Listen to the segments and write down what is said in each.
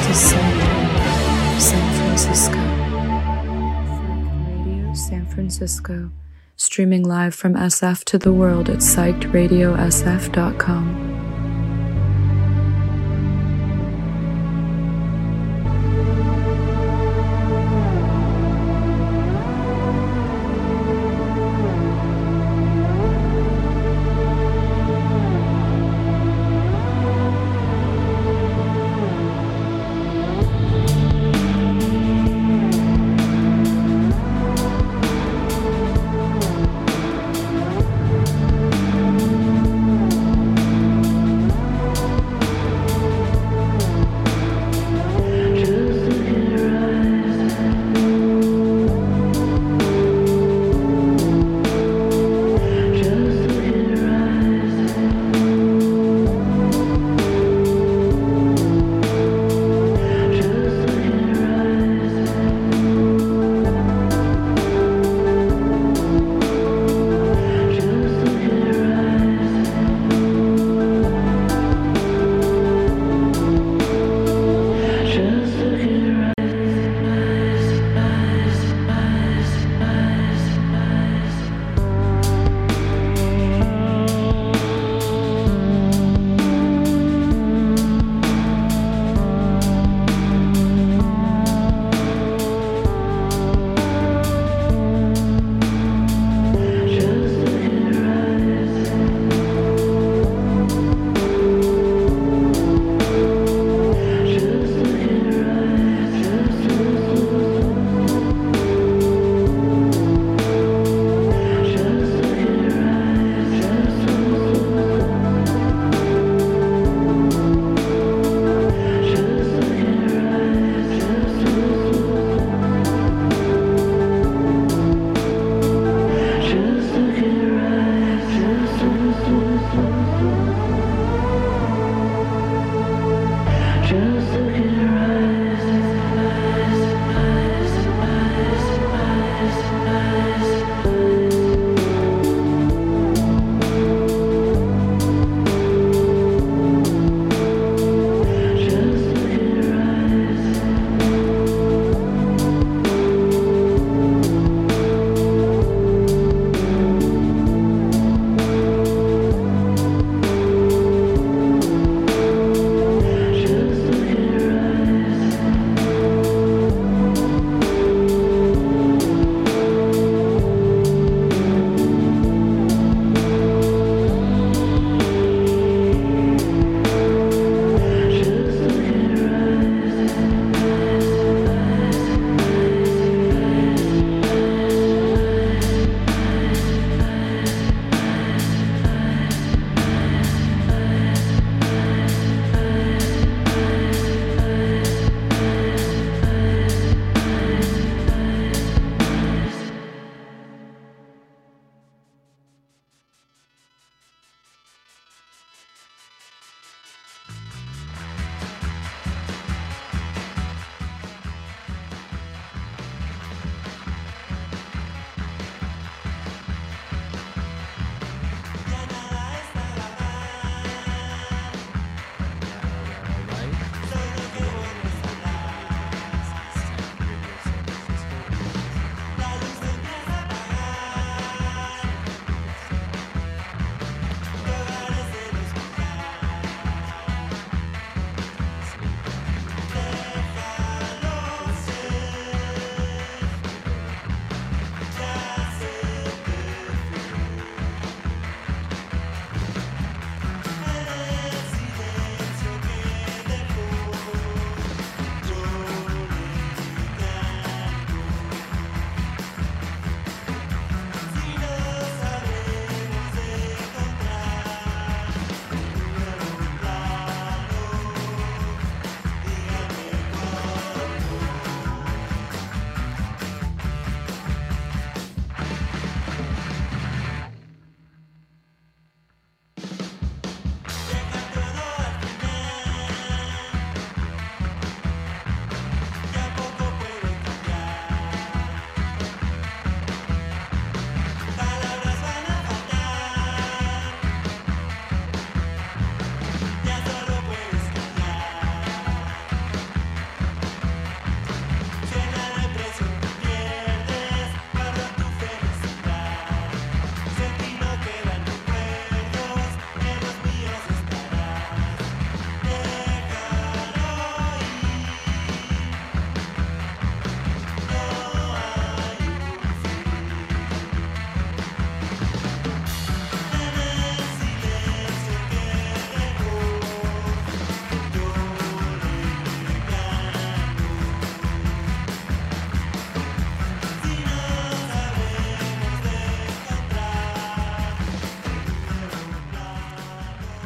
to Psych Radio San Francisco. Psych Radio San Francisco. Streaming live from SF to the world at psychedradiosf.com.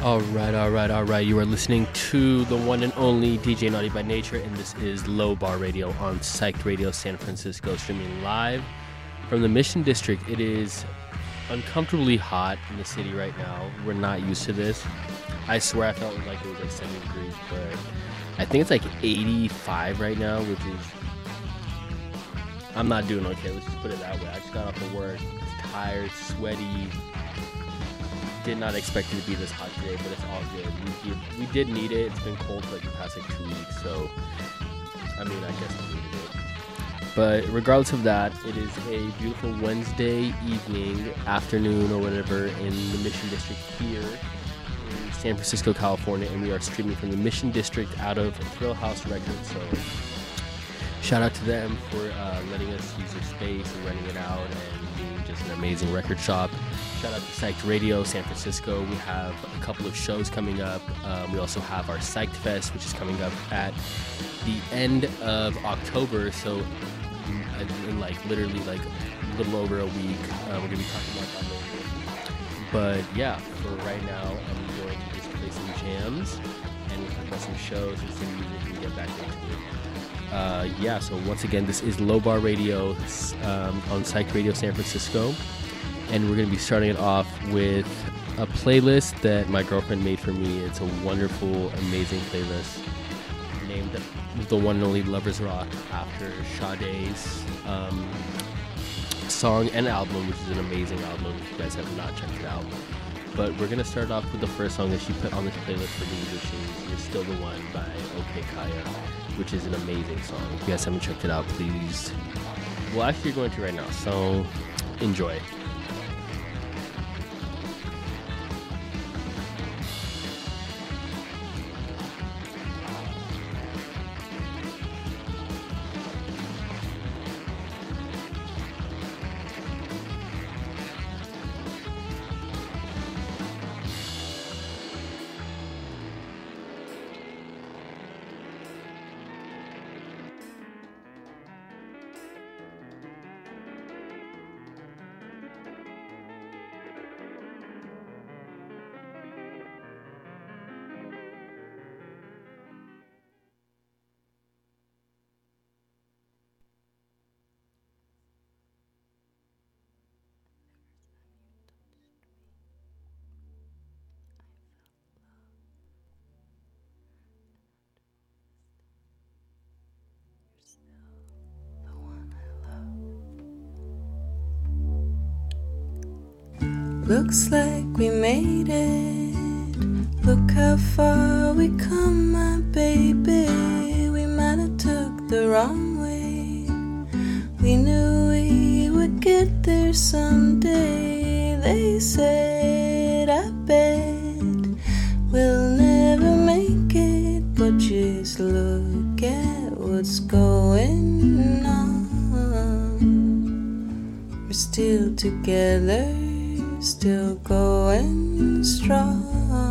All right. You are listening to the one and only DJ Naughty by Nature, and this is Low Bar Radio on Psyched Radio San Francisco, streaming live from the Mission District. It is uncomfortably hot in the city right now. We're not used to this. I swear I felt like it was like 70 degrees, but I think it's like 85 right now, which is... I'm not doing okay, let's just put it that way. I just got off of work, tired, sweaty. Did not expect it to be this hot today, but it's all good. We did need it. It's been cold for like the past like 2 weeks, so I mean, I guess we needed it. But regardless of that, it is a beautiful Wednesday evening, afternoon, or whatever in the Mission District here in San Francisco, California, and we are streaming from the Mission District out of Thrill House Records. So shout out to them for letting us use their space and renting it out and being just an amazing record shop. Shout out to Psyched Radio San Francisco. We have a couple of shows coming up. We also have our Psyched Fest, which is coming up at the end of October. So in like literally like a little over a week, we're going to be talking about that later. But yeah, for right now, I'm going to just play some jams and we'll talk about some shows and some music and get back into it. Yeah, so once again, this is Low Bar Radio on Psyched Radio San Francisco. And we're going to be starting it off with a playlist that my girlfriend made for me. It's a wonderful, amazing playlist named The One and Only Lovers Rock after Sade's song and album, which is an amazing album if you guys have not checked it out. But we're going to start off with the first song that she put on this playlist for me, which is You're Still the One by OK Kaya, which is an amazing song. If you guys haven't checked it out, please. Well, actually, you're going to right now, so enjoy. Looks like we made it. Look how far we come, my baby. We might have took the wrong way. We knew we would get there someday. They said, I bet we'll never make it, but just look at what's going on. We're still together, still going strong.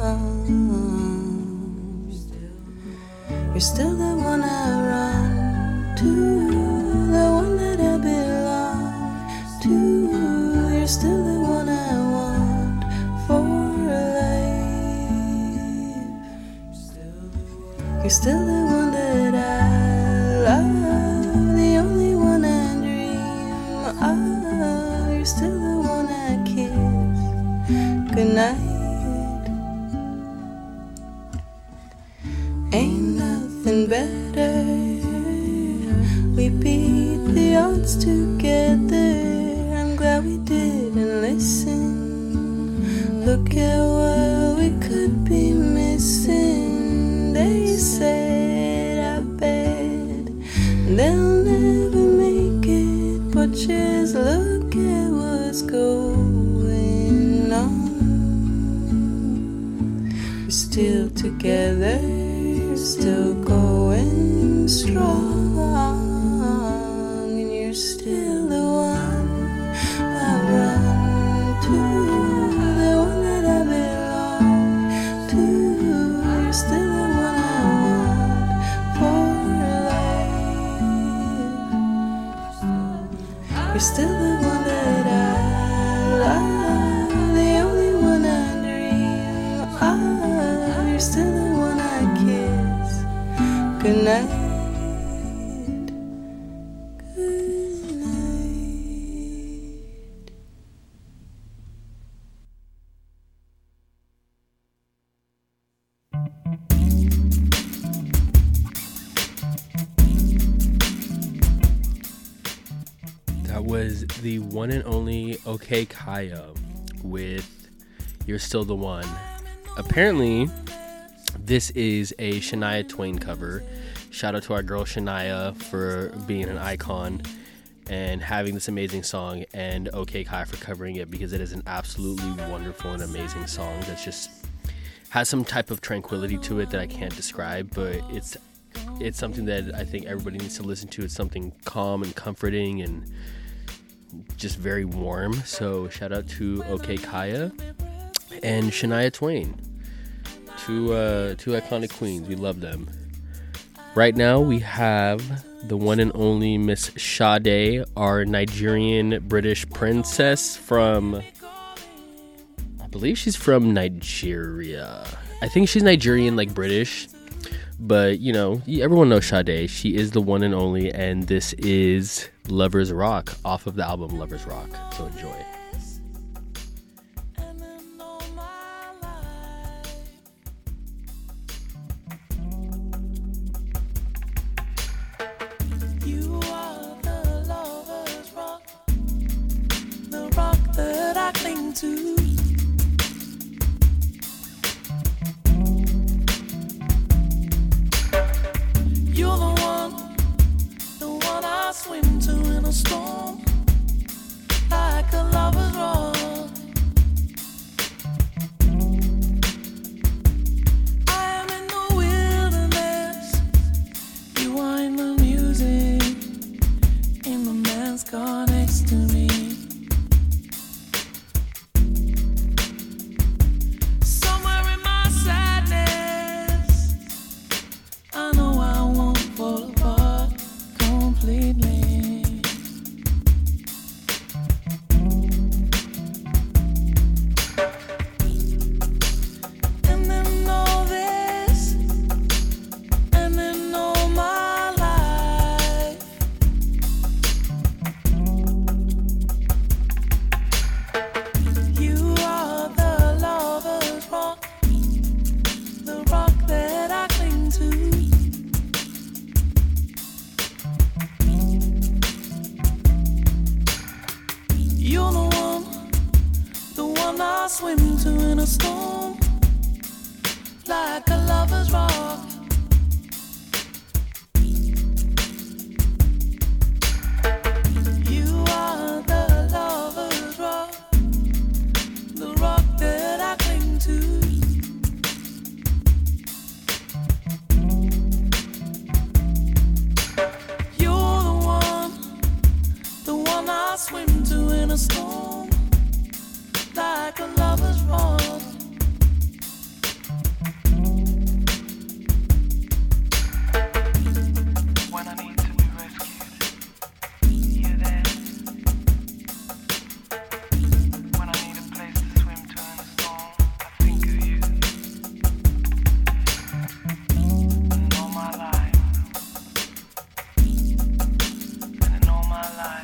You're still the one I run to, the one that I belong to. You're still the one I want for life. You're still the one that I love, the only one I dream of. You're still the one I kiss goodnight. Ain't nothing better. We beat the odds together. I'm glad we didn't listen. Look at what we could be missing. They said, I bet they'll never make it, but just look at what's going on. We're still together, still going strong, and you're still the one I run to, the one that I belong to. You're still the one I want for life. You're still the one that I love, the only one I dream of. night. That was the one and only OK Kaya with You're Still the One. Apparently, this is a Shania Twain cover. Shout out to our girl Shania for being an icon and having this amazing song, and OK Kaya for covering it, because it is an absolutely wonderful and amazing song that just has some type of tranquility to it that I can't describe, but it's something that I think everybody needs to listen to. It's something calm and comforting and just very warm. So shout out to OK Kaya and Shania Twain, two iconic queens. We love them. Right now we have the one and only Miss Sade, our Nigerian British princess from, I believe she's from Nigeria. I think she's Nigerian, like British, but you know, everyone knows Sade. She is the one and only, and this is Lovers Rock off of the album Lovers Rock. So enjoy. You are the lover's rock, the rock that I cling to. You're the one I swim to in a storm, like a lover's rock. I am in the wilderness, you are in the music, in the man's car next to me. Somewhere in my sadness, I know I won't fall apart completely. And then all this, and then all my life, you are the lover's rock, the rock that I cling to. You're the one I swim to in a storm, like a lover's rock. You are the lover's rock, the rock that I cling to. You're the one I swim to in a storm, like a lover's rock. When I need to be rescued, you're there. When I need a place to swim to in a storm, I think of you. And all my life, and in all my life.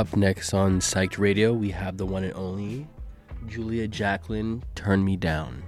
Up next on Psyched Radio, we have the one and only Julia Jacqueline, Turn Me Down.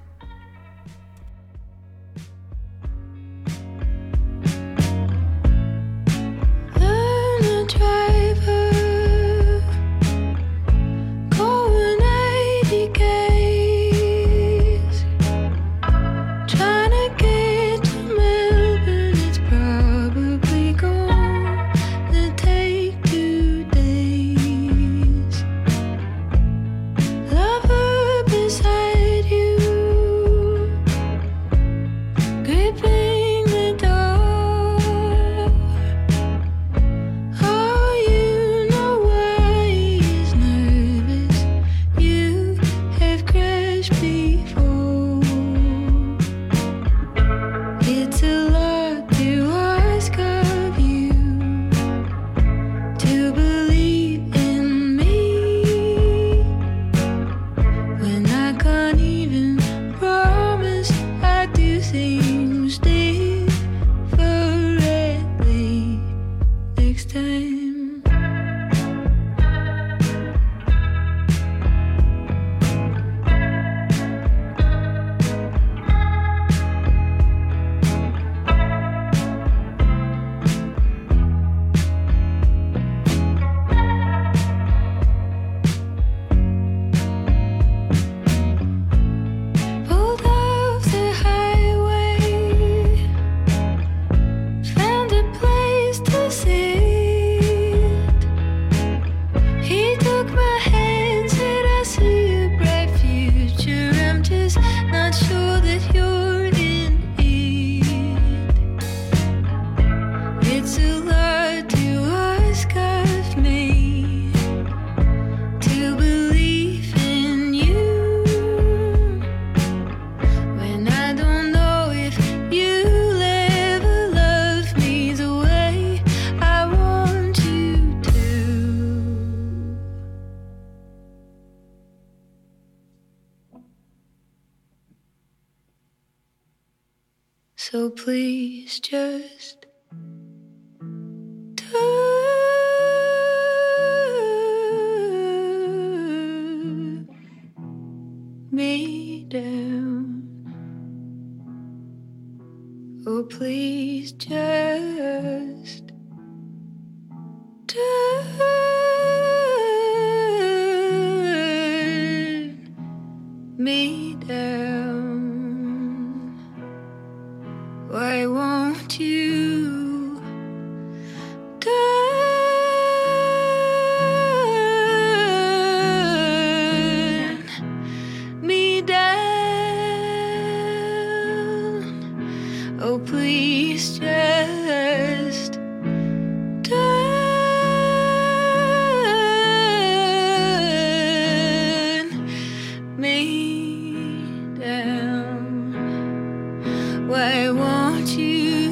So please just turn me down. Oh, please just turn me down. Why won't you turn me down? Oh, please just turn me down. Why won't you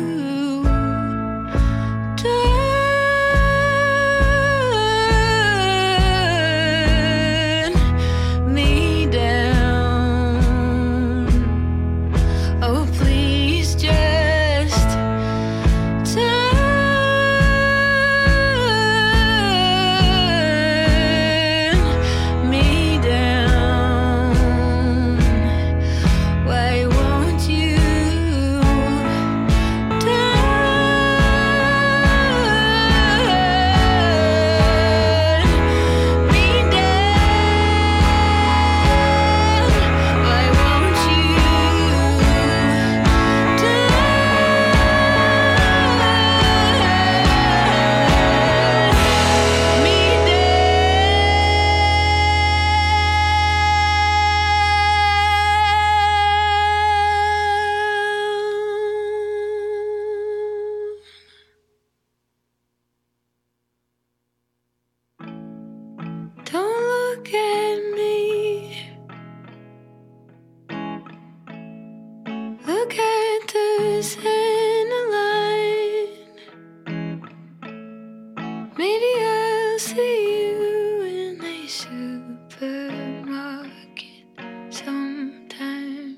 turn me down? Oh, please just turn me down. Why won't you don't look at me. Look at the center line. Maybe I'll see you in a supermarket sometime.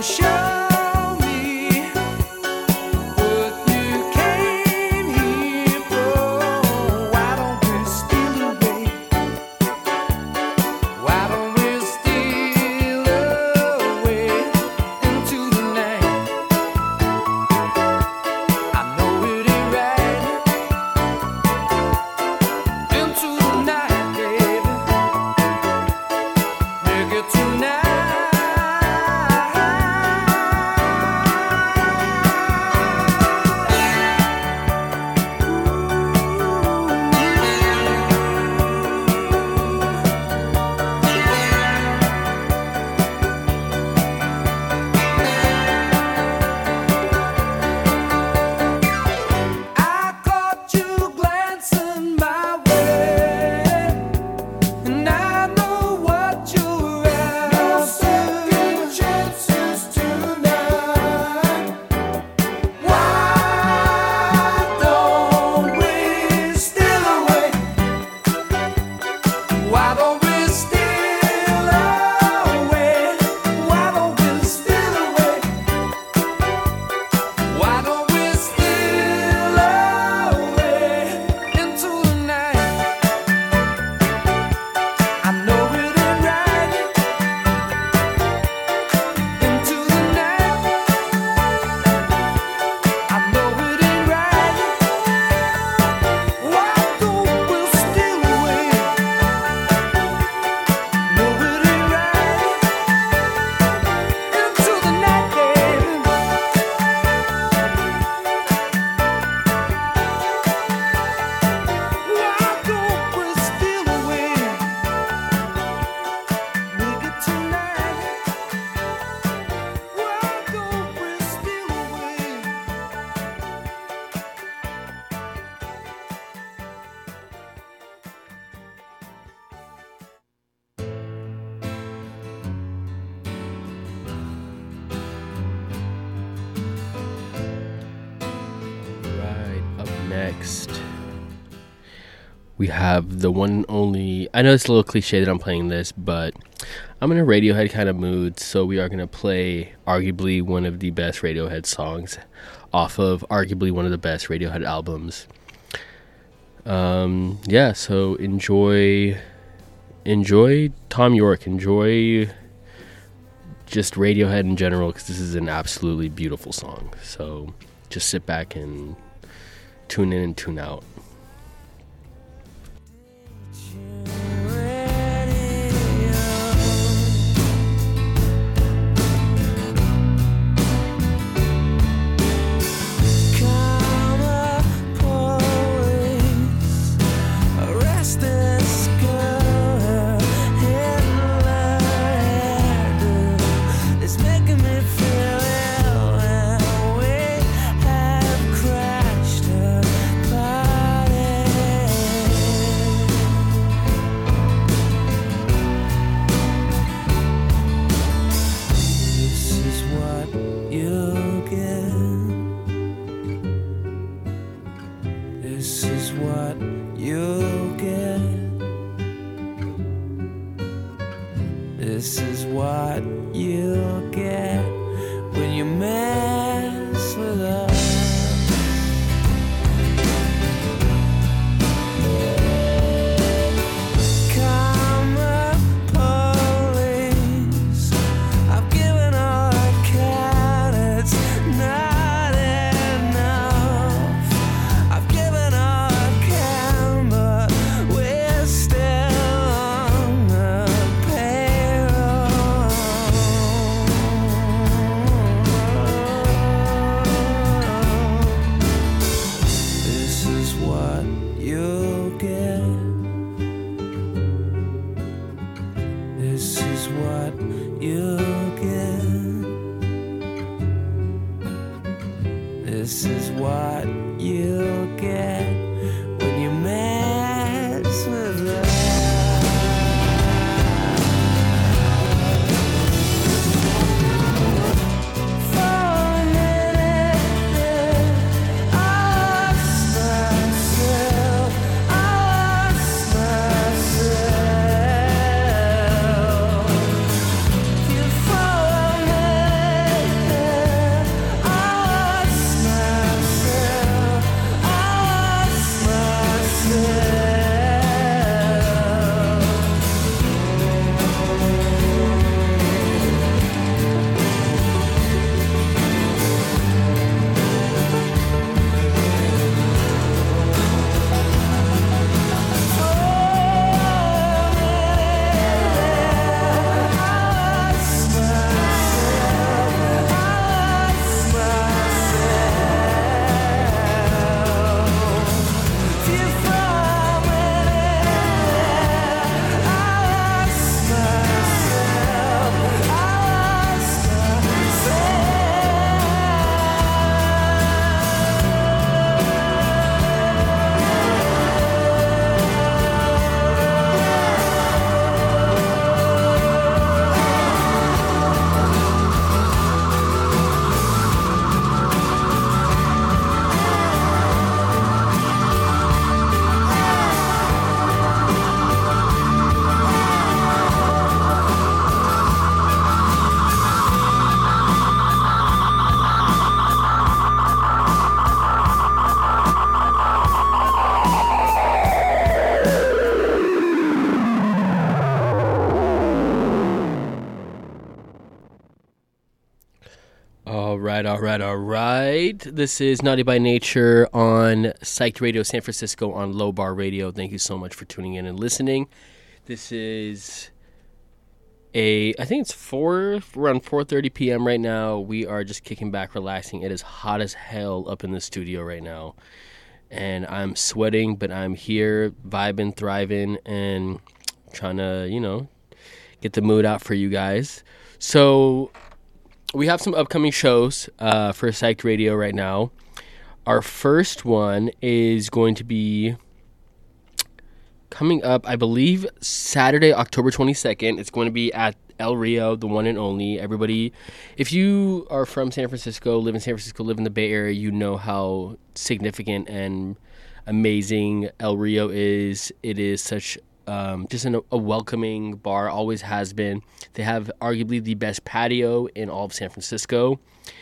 next, we have the one and only, I know it's a little cliche that I'm playing this, but I'm in a Radiohead kind of mood, so we are going to play arguably one of the best Radiohead songs off of arguably one of the best Radiohead albums. So enjoy Thom Yorke, enjoy just Radiohead in general, because this is an absolutely beautiful song. So just sit back and tune in and tune out. This is what you'll get when you mess with us. Karma police, I've given all I can, it's not enough. I've given all I can, but we're still on the payroll. This is what you'll get. This is what you'll get. This is what you'll get when you mess with us. For a minute there, I lost myself. You for a minute All right. This is Naughty by Nature on Psyched Radio San Francisco on Low Bar Radio. Thank you so much for tuning in and listening. This is I think it's around 4:30 p.m. right now. We are just kicking back, relaxing. It is hot as hell up in the studio right now. And I'm sweating, but I'm here vibing, thriving, and trying to, get the mood out for you guys. So we have some upcoming shows for Psyched Radio right now. Our first one is going to be coming up, I believe, Saturday, October 22nd. It's going to be at El Rio, the one and only. Everybody, if you are from San Francisco, live in San Francisco, live in the Bay Area, you know how significant and amazing El Rio is. It is such just a welcoming bar, always has been. They have arguably the best patio in all of San Francisco.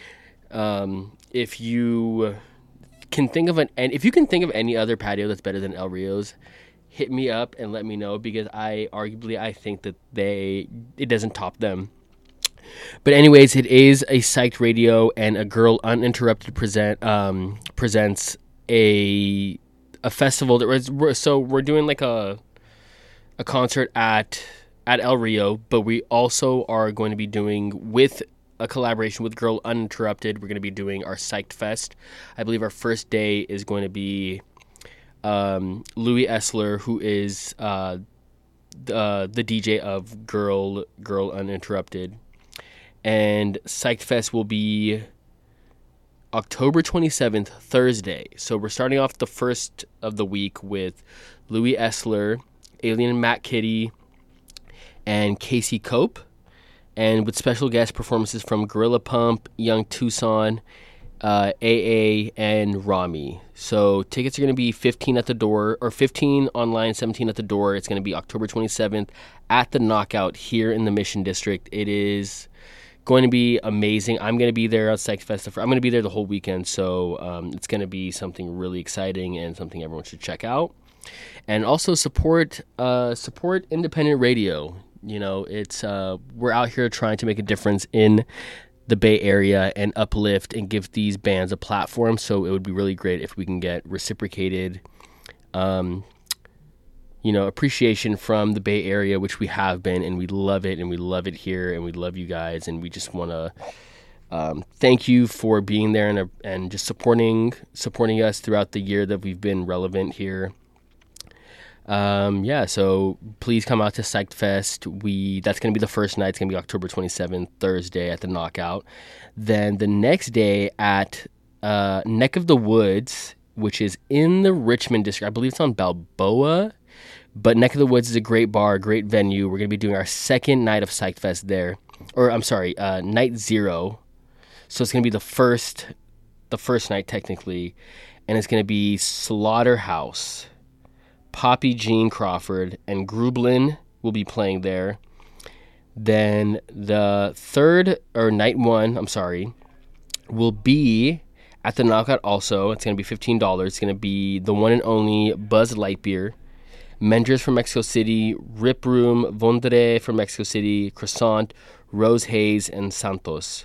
If you can think of any other patio that's better than El Rio's, hit me up and let me know, because I think that it doesn't top them. But anyways, it is a Psyched Radio, and A Girl Uninterrupted presents a festival so we're doing like a concert at El Rio, but we also are going to be doing, with a collaboration with Girl Uninterrupted, we're going to be doing our Psyched Fest. I believe our first day is going to be Louis Essler, who is the DJ of Girl Uninterrupted, and Psyched Fest will be October 27th, Thursday. So we're starting off the first of the week with Louis Essler, Alien Matt Kitty, and Casey Cope, and with special guest performances from Gorilla Pump, Young Tucson, AA, and Rami. So tickets are going to be $15 at the door, or $15 online, $17 at the door. It's going to be October 27th at the Knockout here in the Mission District. It is going to be amazing. I'm going to be there at Psyched Fest. I'm going to be there the whole weekend, so it's going to be something really exciting and something everyone should check out. And also support independent radio. It's we're out here trying to make a difference in the Bay Area and uplift and give these bands a platform. So it would be really great if we can get reciprocated, appreciation from the Bay Area, which we have been, and we love it, and we love it here, and we love you guys, and we just want to thank you for being there and just supporting us throughout the year that we've been relevant here. So please come out to Psyched Fest. That's going to be the first night. It's going to be October 27th, Thursday at the Knockout. Then the next day at Neck of the Woods, which is in the Richmond District. I believe it's on Balboa, but Neck of the Woods is a great bar, great venue. We're going to be doing our second night of Psyched Fest there. Or, I'm sorry, night 0. So it's going to be the first night technically, and it's going to be Slaughterhouse, Poppy Jean Crawford, and Grublin will be playing there. Then the night 1, will be at the Knockout also. It's going to be $15. It's going to be the one and only Buzz Lightyear, Mendres from Mexico City, Rip Room, Vondre from Mexico City, Croissant, Rose Hayes, and Santos.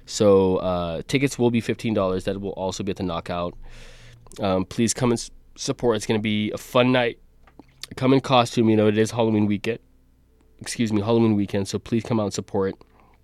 So tickets will be $15. That will also be at the Knockout. Please come and support. It's going to be a fun night. Come in costume. It is Halloween weekend. Halloween weekend. So please come out and support.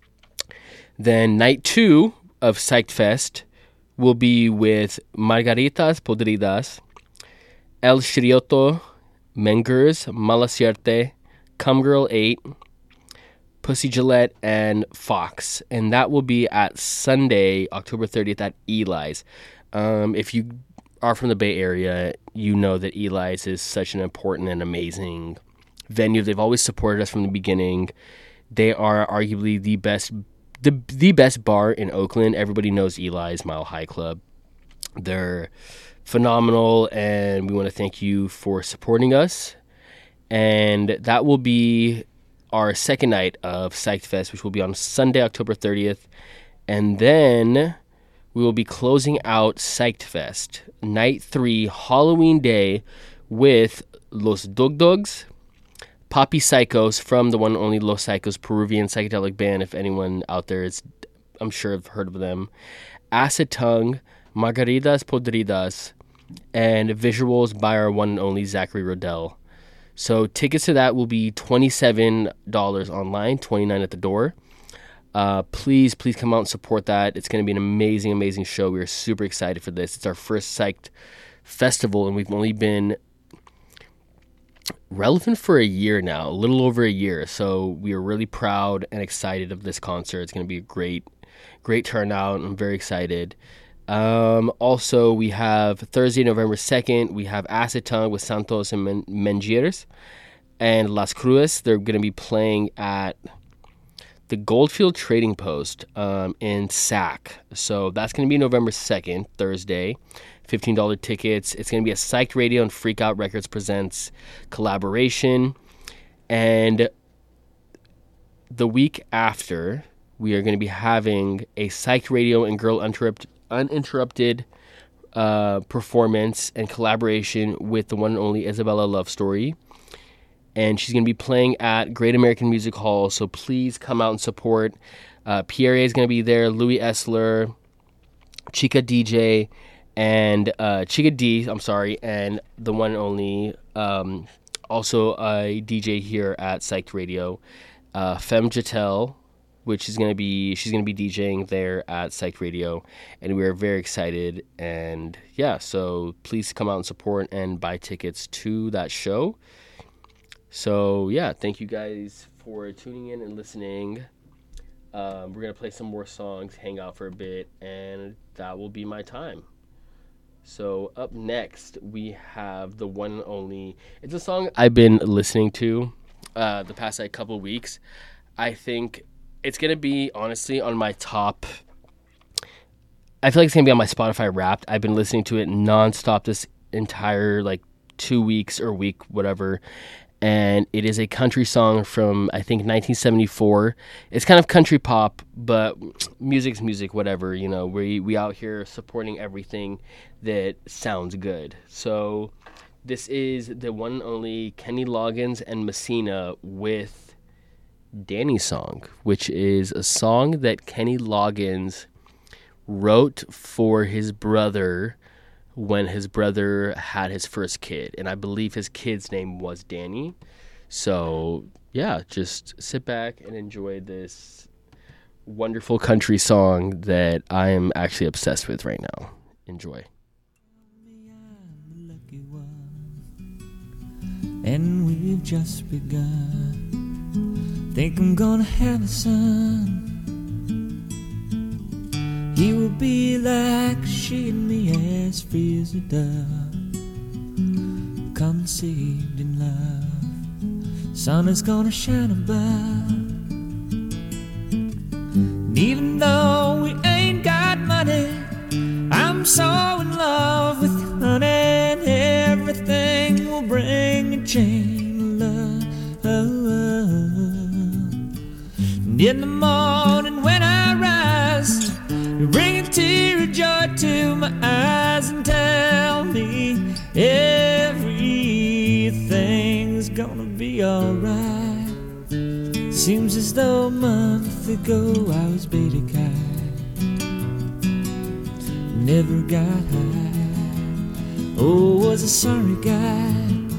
Then night 2 of Psyched Fest will be with Margaritas Podridas, El Shrioto, Mengers, Mala Sierte, Cumgirl 8, Pussy Gillette, and Fox. And that will be at Sunday, October 30th at Eli's. If you are from the Bay Area, you know that Eli's is such an important and amazing venue. They've always supported us from the beginning. They are arguably the best bar in Oakland. Everybody knows Eli's Mile High Club. They're phenomenal, and we want to thank you for supporting us. And that will be our second night of Psyched Fest, which will be on Sunday, October 30th. And then we will be closing out Psyched Fest, night 3, Halloween day, with Los Dog Dogs, Poppy Psychos from the one and only Los Psychos, Peruvian psychedelic band. If anyone out there is I'm sure have heard of them. Acid Tongue, Margaritas Podridas, and visuals by our one and only Zachary Rodell. So tickets to that will be $27 online, $29 at the door. Please come out and support that. It's going to be an amazing show. We are super excited for this. It's our first Psyched festival, and we've only been relevant for a year now, a little over a year. So we are really proud and excited of this concert. It's going to be a great turnout. I'm very excited. Also, we have Thursday, November 2nd, we have Acid Tongue with Santos and Mengiers and Las Cruces. They're going to be playing at the Goldfield Trading Post in Sac. So that's going to be November 2nd, Thursday. $15 tickets. It's going to be a Psyched Radio and Freak Out Records Presents collaboration. And the week after, we are going to be having a Psyched Radio and Girl Uninterrupted performance and collaboration with the one and only Isabella Love Story. And she's going to be playing at Great American Music Hall, so please come out and support. Pierre is going to be there, Louis Essler, Chica DJ, and Chica D, and the one and only, also a DJ here at Psyched Radio, Femme Jatel, she's going to be DJing there at Psyched Radio, and we are very excited. And yeah, so please come out and support and buy tickets to that show. So yeah, thank you guys for tuning in and listening. We're going to play some more songs, hang out for a bit, and that will be my time. So up next, we have the one and only, it's a song I've been listening to the past couple of weeks. I think it's going to be, honestly, on my top, I feel like it's going to be on my Spotify Wrapped. I've been listening to it nonstop this entire 2 weeks or week, whatever. And it is a country song from, I think, 1974. It's kind of country pop, but music's music, whatever. You know, we out here supporting everything that sounds good. So this is the one and only Kenny Loggins and Messina with Danny Song, which is a song that Kenny Loggins wrote for his brother when his brother had his first kid, and I believe his kid's name was Danny. So yeah, just sit back and enjoy this wonderful country song that I am actually obsessed with right now. Enjoy. And we've just begun. Think I'm gonna have a son. He will be like she and me, as free as a dove, conceived in love. Sun is gonna shine above. And even though we ain't got money, I'm so in love with you, honey, and everything will bring a chain of love. And in the morning when I rise, you bring a tear of joy to my eyes and tell me everything's gonna be alright. Seems as though a month ago I was beta guy, never got high, oh, was a sorry guy.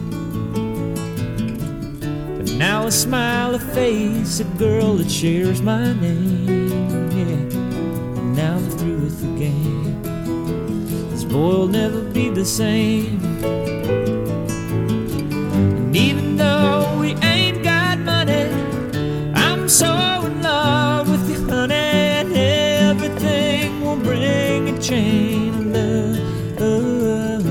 But now I smile, a face, a girl that shares my name, yeah. Now I'm through with the game. This boy will never be the same. And even though we ain't got money, I'm so in love with you, honey, and everything will bring a chain of love.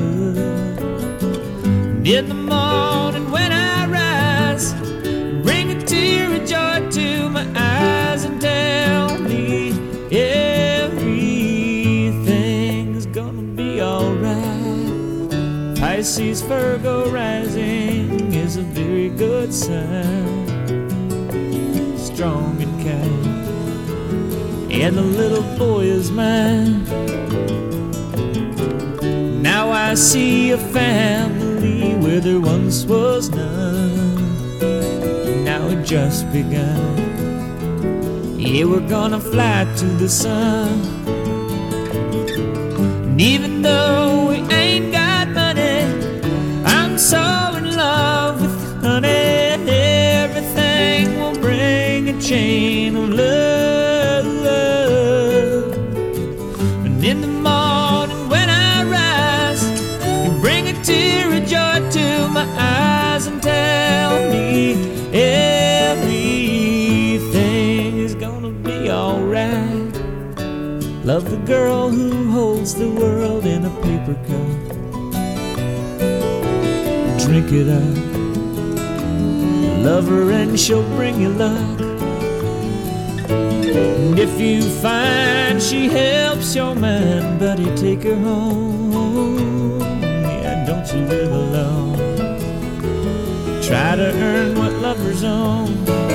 And in the morning when I rise, bring a tear of joy to my eyes and tell me, yeah, Pisces, Virgo rising is a very good sign. Strong and kind, and the little boy is mine. Now I see a family where there once was none. Now it just begun. Yeah, we're gonna fly to the sun. And even though we ain't got money, I'm so in love with you, honey. Everything will bring a chain of love. And in the morning when I rise, you bring a tear of joy to my eyes and tell me everything is gonna be alright. Love the girl who holds the world in a paper cup. Drink it up. Love her and she'll bring you luck. And if you find she helps your mind, buddy, take her home. Yeah, don't you live alone. Try to earn what lovers own.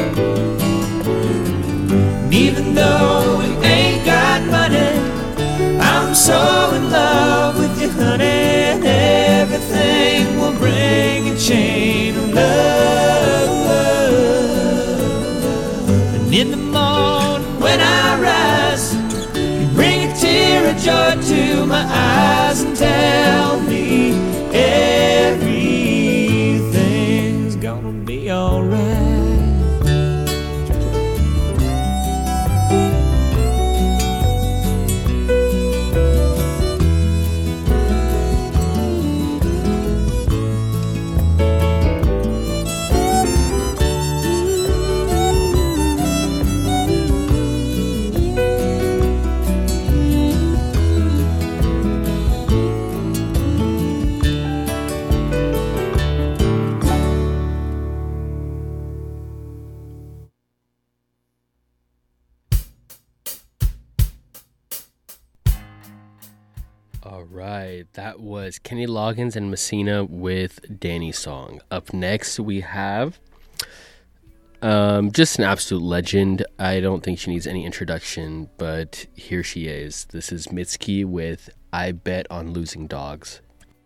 And even though we ain't got money, I'm so in love with you, honey. And everything will bring a chain of love. And in the morning when I rise, you bring a tear of joy to my eyes and tell me everything's gonna be alright. All right, that was Kenny Loggins and Messina with Danny's Song. Up next, we have just an absolute legend. I don't think she needs any introduction, but here she is. This is Mitski with I Bet on Losing Dogs.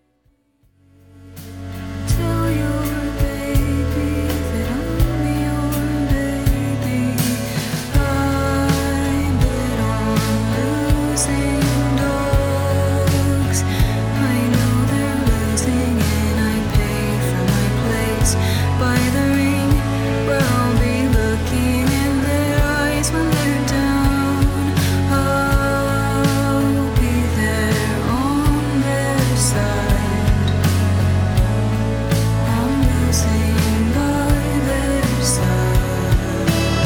Tell your baby that I'm your baby. I bet on losing dogs. I know they're losing and I pay for my place by the ring where I'll be looking in their eyes when they're down. I'll be there on their side. I'm losing by their side.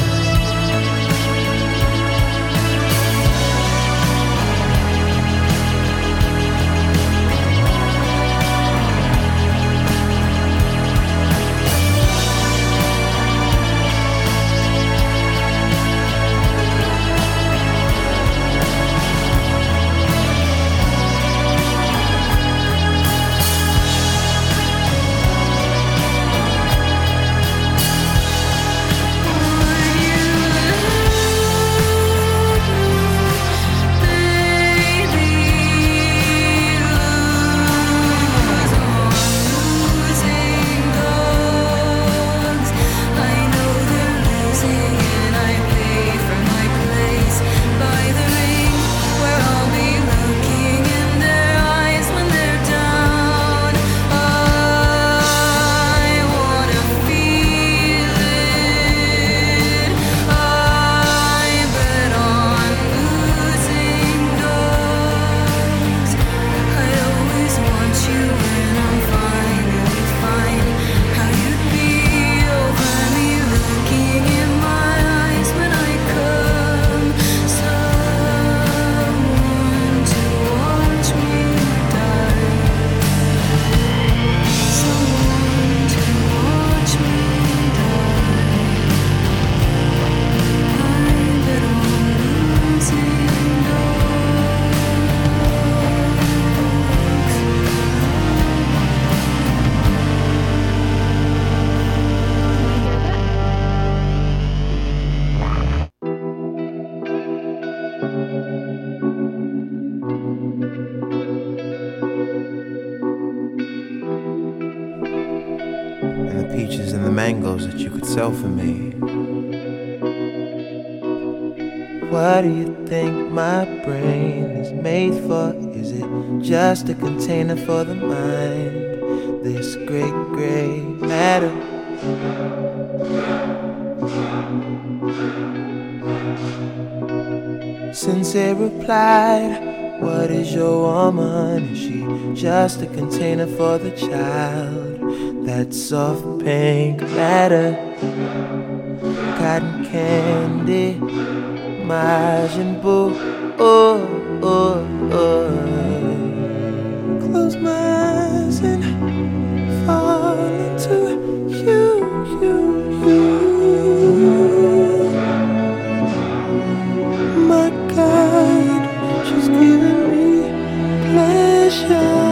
And the peaches and the mangoes that you could sell for me. What do you think my brain is made for? Is it just a container for the mind? This great gray matter. Sensei replied, what is your woman? Is she just a container for the child? That soft pink matter, cotton candy, Majin Buu. Oh, oh, oh. Close my eyes and fall into you. My God, she's giving me pleasure.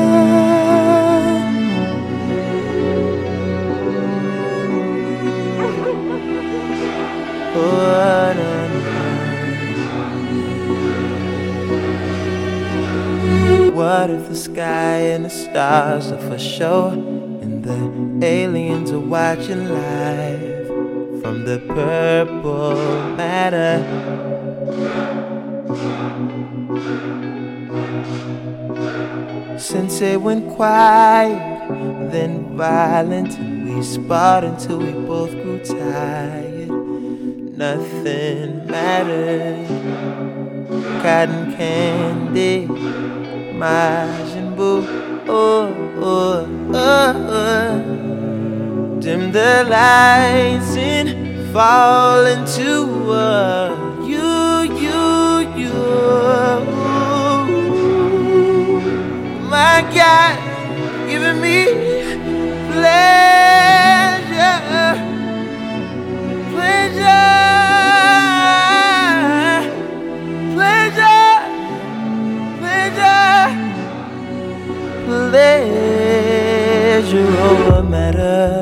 Oh, no. What if the sky and the stars are for show, and the aliens are watching live from the purple matter? Sensei went quiet, then violent, and we sparred until we both grew tired. Nothing mattered. Cotton candy, Majin Buu. Oh, oh, oh, oh. Dim the lights and fall into you. My God, giving me pleasure. Pleasure over matter.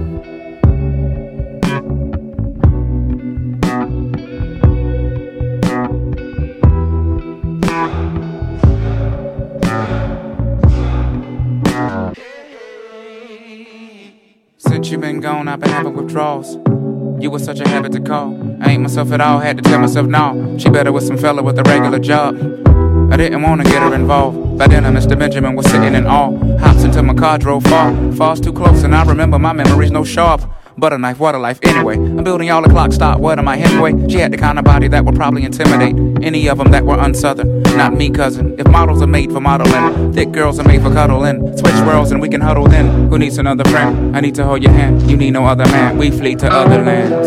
Since you been gone, I've been having withdrawals. You was such a habit to call. I ain't myself at all, had to tell myself no. She better with some fella with a regular job. I didn't wanna get her involved. By then, Mr. Benjamin was sitting in awe. Hops into my car, drove far. Falls too close, and I remember my memories no sharp. Butter knife, what a life anyway. I'm building y'all a clock stop, what am I Hemingway? She had the kind of body that would probably intimidate any of them that were unsouthern. Not me, cousin. If models are made for modeling, thick girls are made for cuddling. Switch worlds and we can huddle then. Who needs another friend? I need to hold your hand. You need no other man. We flee to other lands.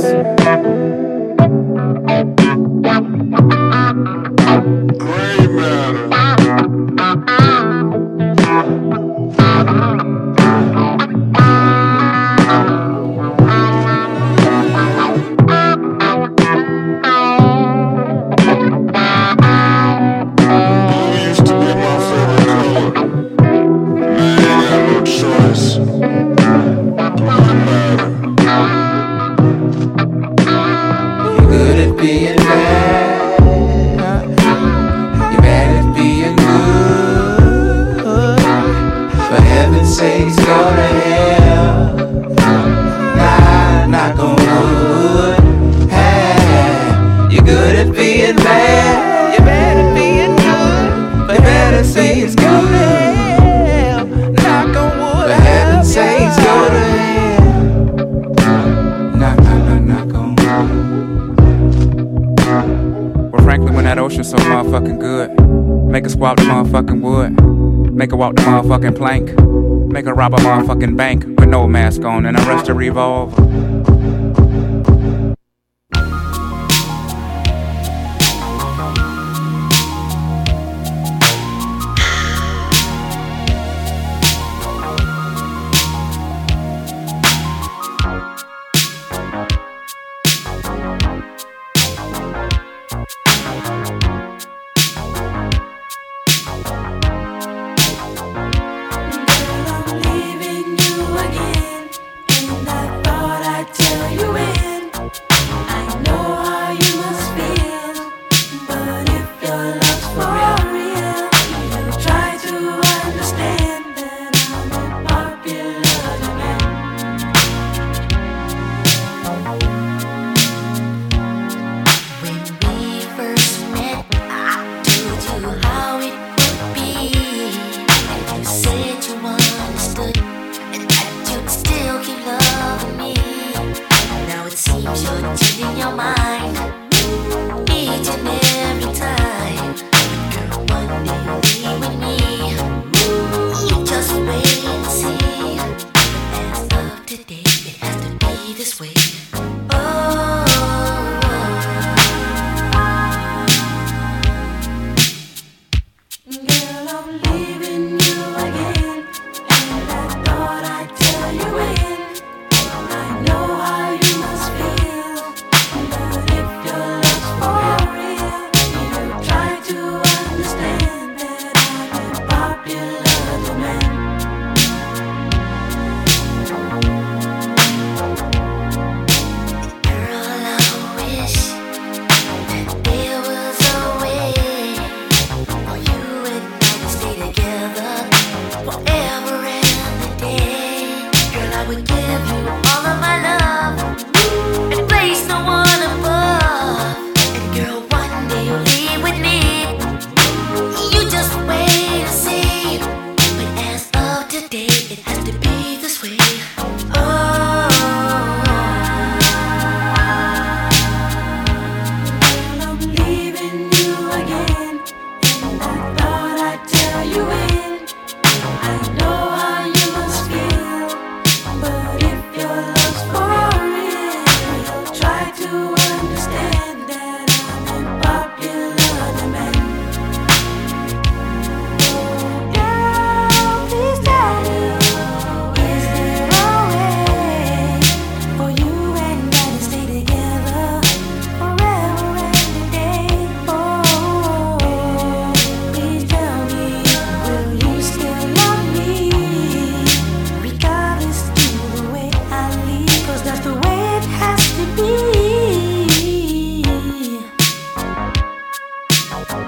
Gray matter. Being bad, you're bad at being good. For heaven's sakes, go to hell. Nah, knock on wood. Hey, you're good at being bad, you're bad at being good. For heaven's sakes, go to hell. Knock on wood. For heaven's sakes, go to hell. Knock on wood. Frankly, when that ocean's so motherfucking good, make her swap the motherfucking wood, make her walk the motherfucking plank, make her rob a motherfucking bank with no mask on and arrest a revolver.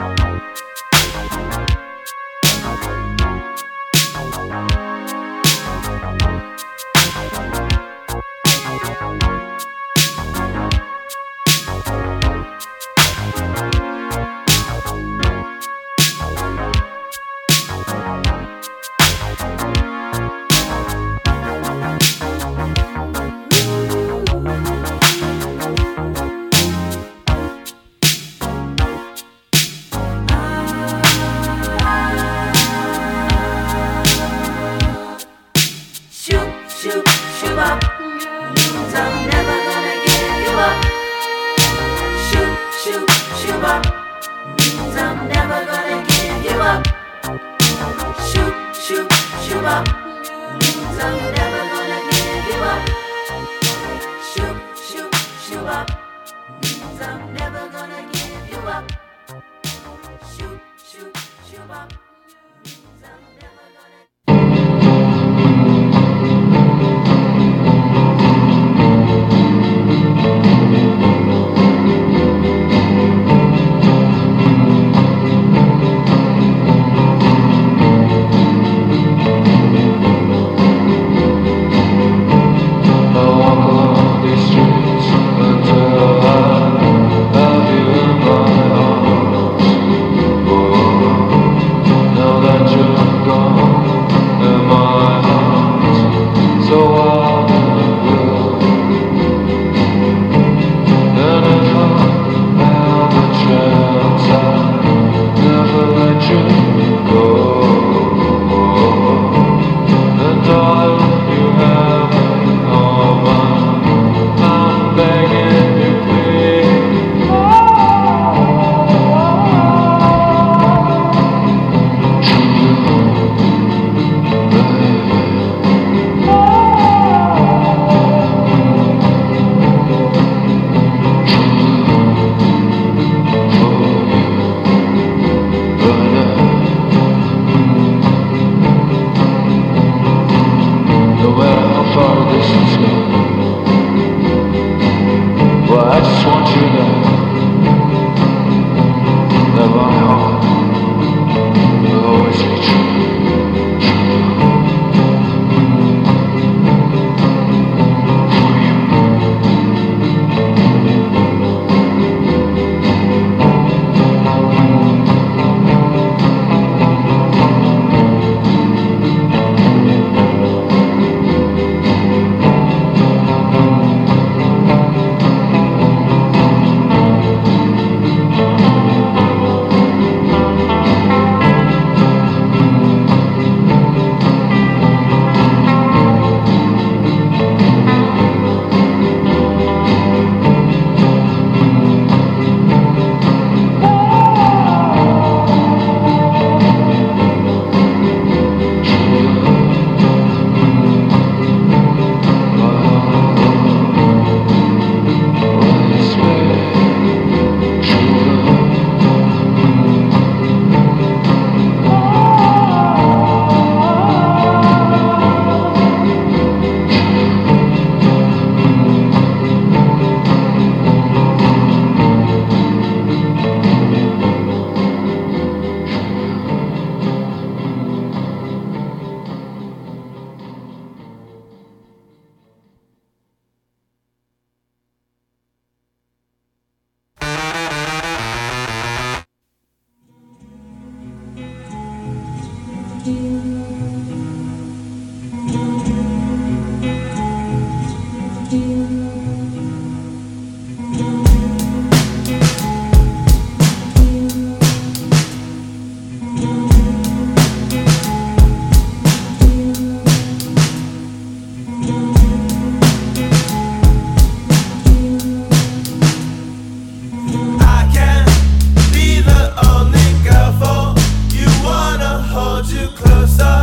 hold you closer.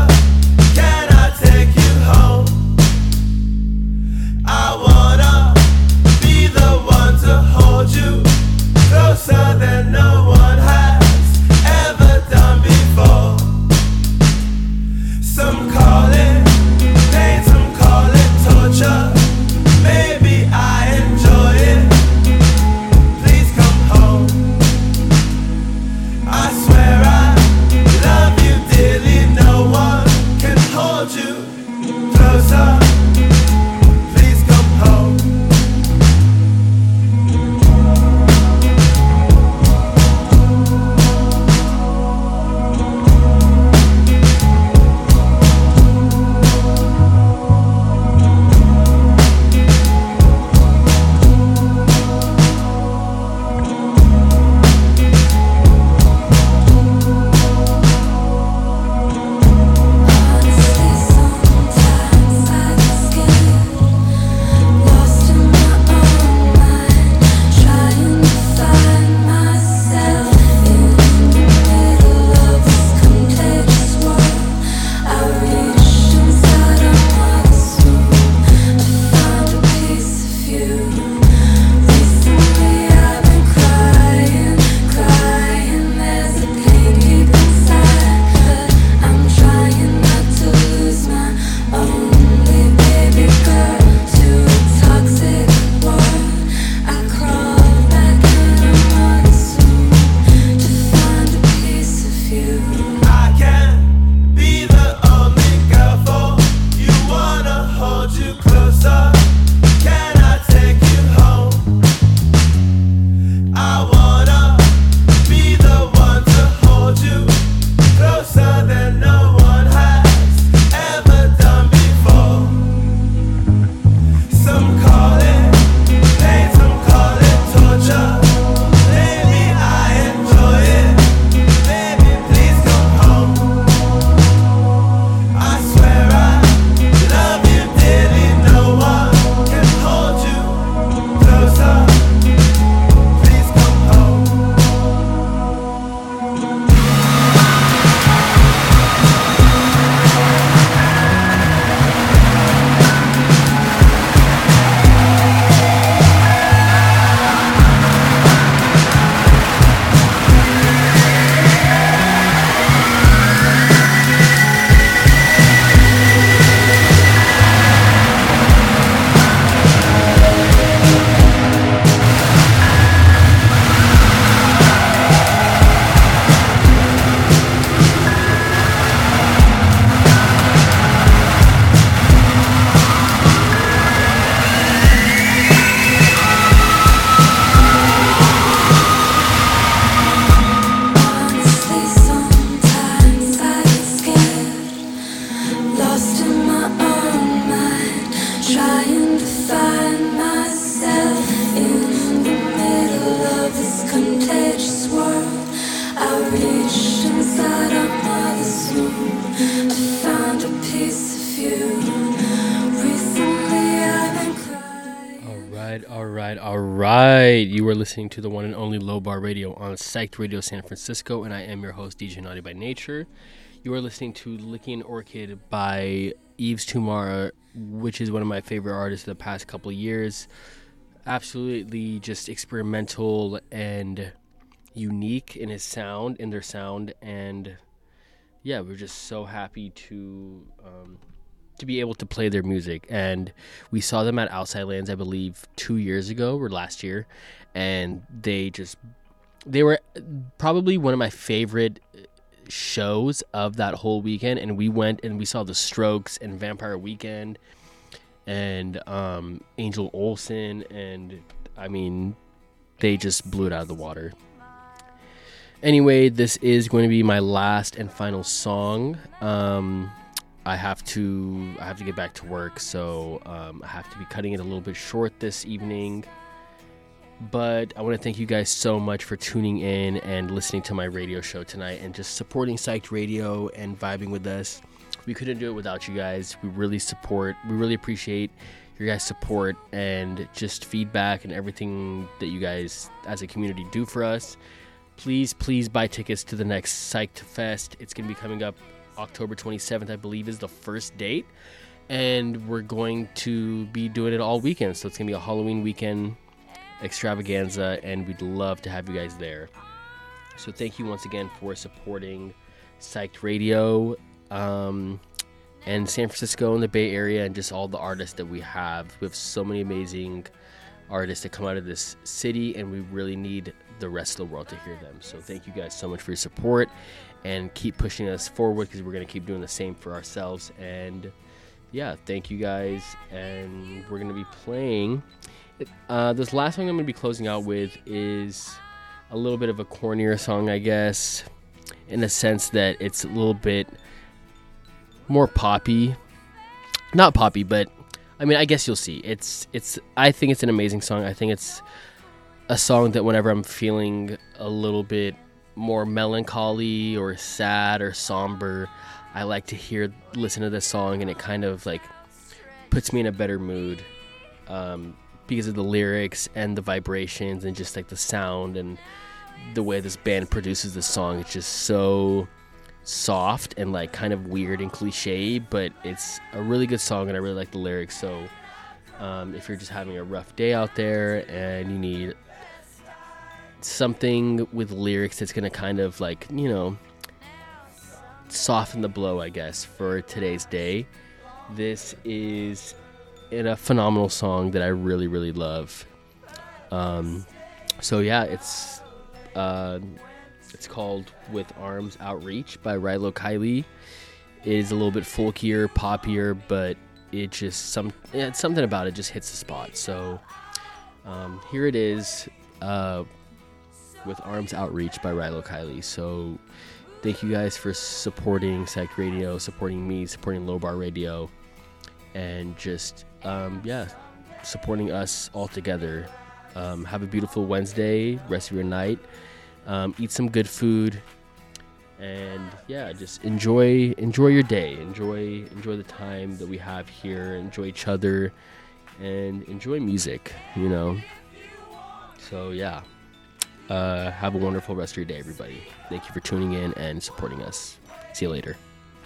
you. I can be the only girl for you. Wanna hold you closer. Can I take you home? I wanna be the one to hold you closer than no one has ever done before. Some call it pain, some call it torture. Lately I enjoy it. Baby, please come home. I swear I love you dearly. No one can hold you closer. Please come home. Honestly, sometimes I get scared, lost in my own mind, trying to find myself in the middle of this contagious world. I reached inside our mother's womb to find a piece of you. Recently I've been crying. All right. You are listening to the one and only Low Bar Radio on Psyched Radio San Francisco, and I am your host, DJ Naughty by Nature. You are listening to Licking Orchid by Yves Tumor, which is one of my favorite artists of the past couple of years. Absolutely just experimental and unique in his sound, in their sound, and yeah, we're just so happy to be able to play their music. And we saw them at Outside Lands, I believe 2 years ago or last year, and they were probably one of my favorite shows of that whole weekend. And we went and we saw The Strokes and Vampire Weekend and Angel Olsen, and I mean, they just blew it out of the water. Anyway, this is going to be my last and final song. I have to get back to work, so I have to be cutting it a little bit short this evening. But I want to thank you guys so much for tuning in and listening to my radio show tonight and just supporting Psyched Radio and vibing with us. We couldn't do it without you guys. We really appreciate your guys' support and just feedback and everything that you guys as a community do for us. Please buy tickets to the next Psyched Fest. It's going to be coming up October 27th, I believe, is the first date. And we're going to be doing it all weekend. So it's going to be a Halloween weekend extravaganza, and we'd love to have you guys there. So thank you once again for supporting Psyched Radio and San Francisco and the Bay Area and just all the artists that we have. We have so many amazing artists that come out of this city, and we really need the rest of the world to hear them. So thank you guys so much for your support, and keep pushing us forward because we're going to keep doing the same for ourselves. And yeah, thank you guys. And we're going to be playing this last song I'm going to be closing out with is a little bit of a cornier song, I guess, in the sense that it's a little bit more poppy. Not poppy, but I mean, I guess you'll see. I think it's an amazing song. I think it's a song that whenever I'm feeling a little bit more melancholy or sad or somber, I like to listen to this song, and it kind of like puts me in a better mood because of the lyrics and the vibrations and just like the sound and the way this band produces the song. It's just so soft and like kind of weird and cliche, but it's a really good song, and I really like the lyrics. So if you're just having a rough day out there and you need something with lyrics that's gonna kind of like, you know, soften the blow, I guess, for today's day, this is a phenomenal song that I really, really love. So yeah, it's It's called With Arms Outreach by Rilo Kiley. It is a little bit folkier, poppier, but it's something about it just hits the spot. So here it is, With Arms Outreach by Rilo Kiley. So thank you guys for supporting Psych Radio, supporting me, supporting Low Bar Radio, and just supporting us all together. Have a beautiful Wednesday, rest of your night. Eat some good food, and just enjoy your day. Enjoy the time that we have here. Enjoy each other, and enjoy music. So have a wonderful rest of your day, everybody. Thank you for tuning in and supporting us. See you later.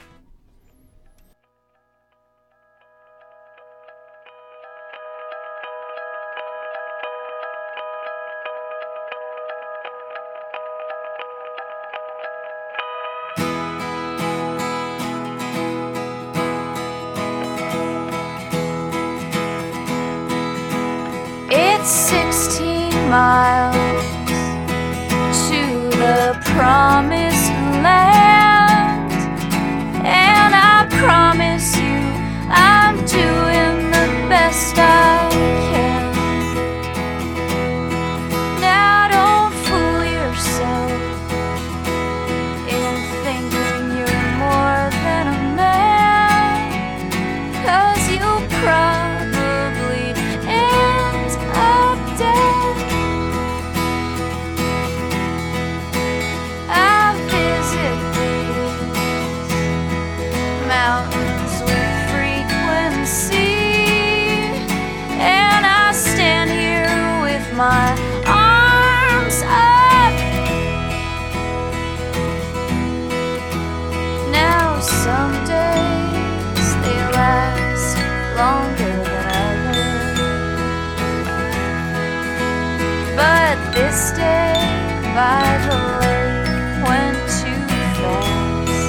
It's 16 miles to the promised land, and I promise you I'm doing the best I can. Now don't fool yourself in thinking you're more than a man, 'cause you'll probably end up dead. I visit these mountains with frequency, and I stand here with my arms up. Now some days they last longer than others, but this day by the lake went too fast.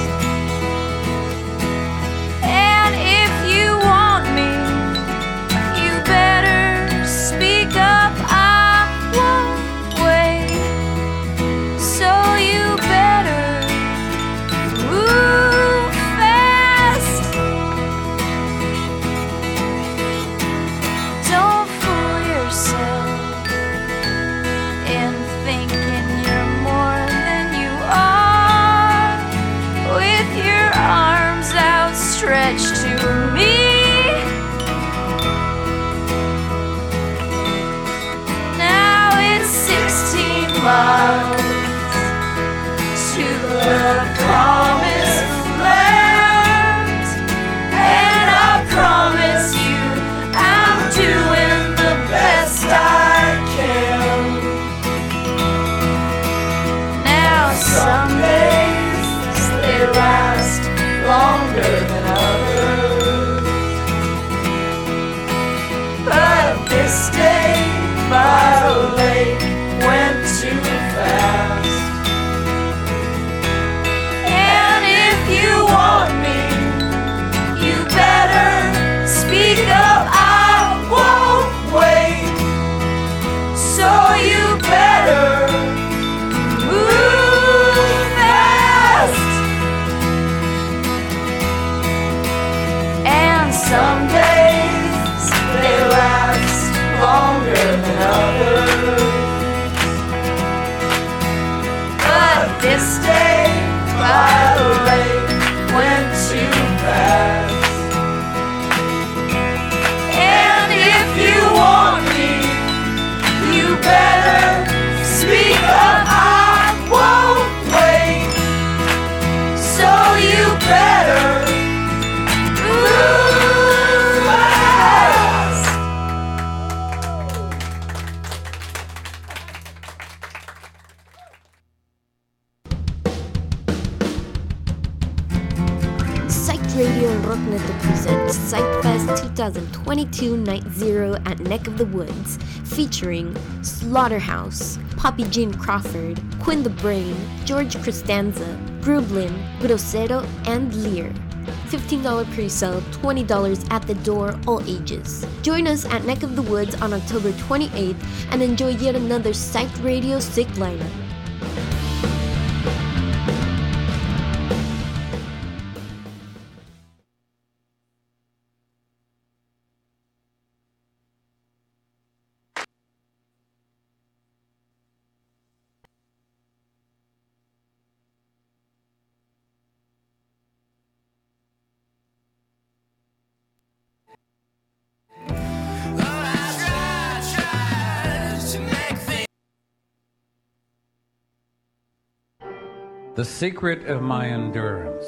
And if you want me, you better speak up. I won't wait, so you better move fast. Don't fool yourself in thinking you're more than you are, with your arms outstretched to me. Now it's 16 miles to the promised land, and I promise you I'm doing the best I can. Now some days they last longer than others, but this day by the lake went too fast. And if you want me, you better speak up. I won't wait, so you better move fast. And some days they last longer than others, but this day by the lake went too fast. And if you want me, you better speak up. I won't wait, so you better move fast. Psych Radio and Rockneto presents Psychfest 2022 Night Zero at Neck of the Woods, featuring Slaughterhouse, Poppy Jean Crawford, Quinn the Brain, George Costanza, Grublin, Grosero, and Lear. $15 pre-sale, $20 at the door, all ages. Join us at Neck of the Woods on October 28th and enjoy yet another Psych Radio sick lineup. The secret of my endurance.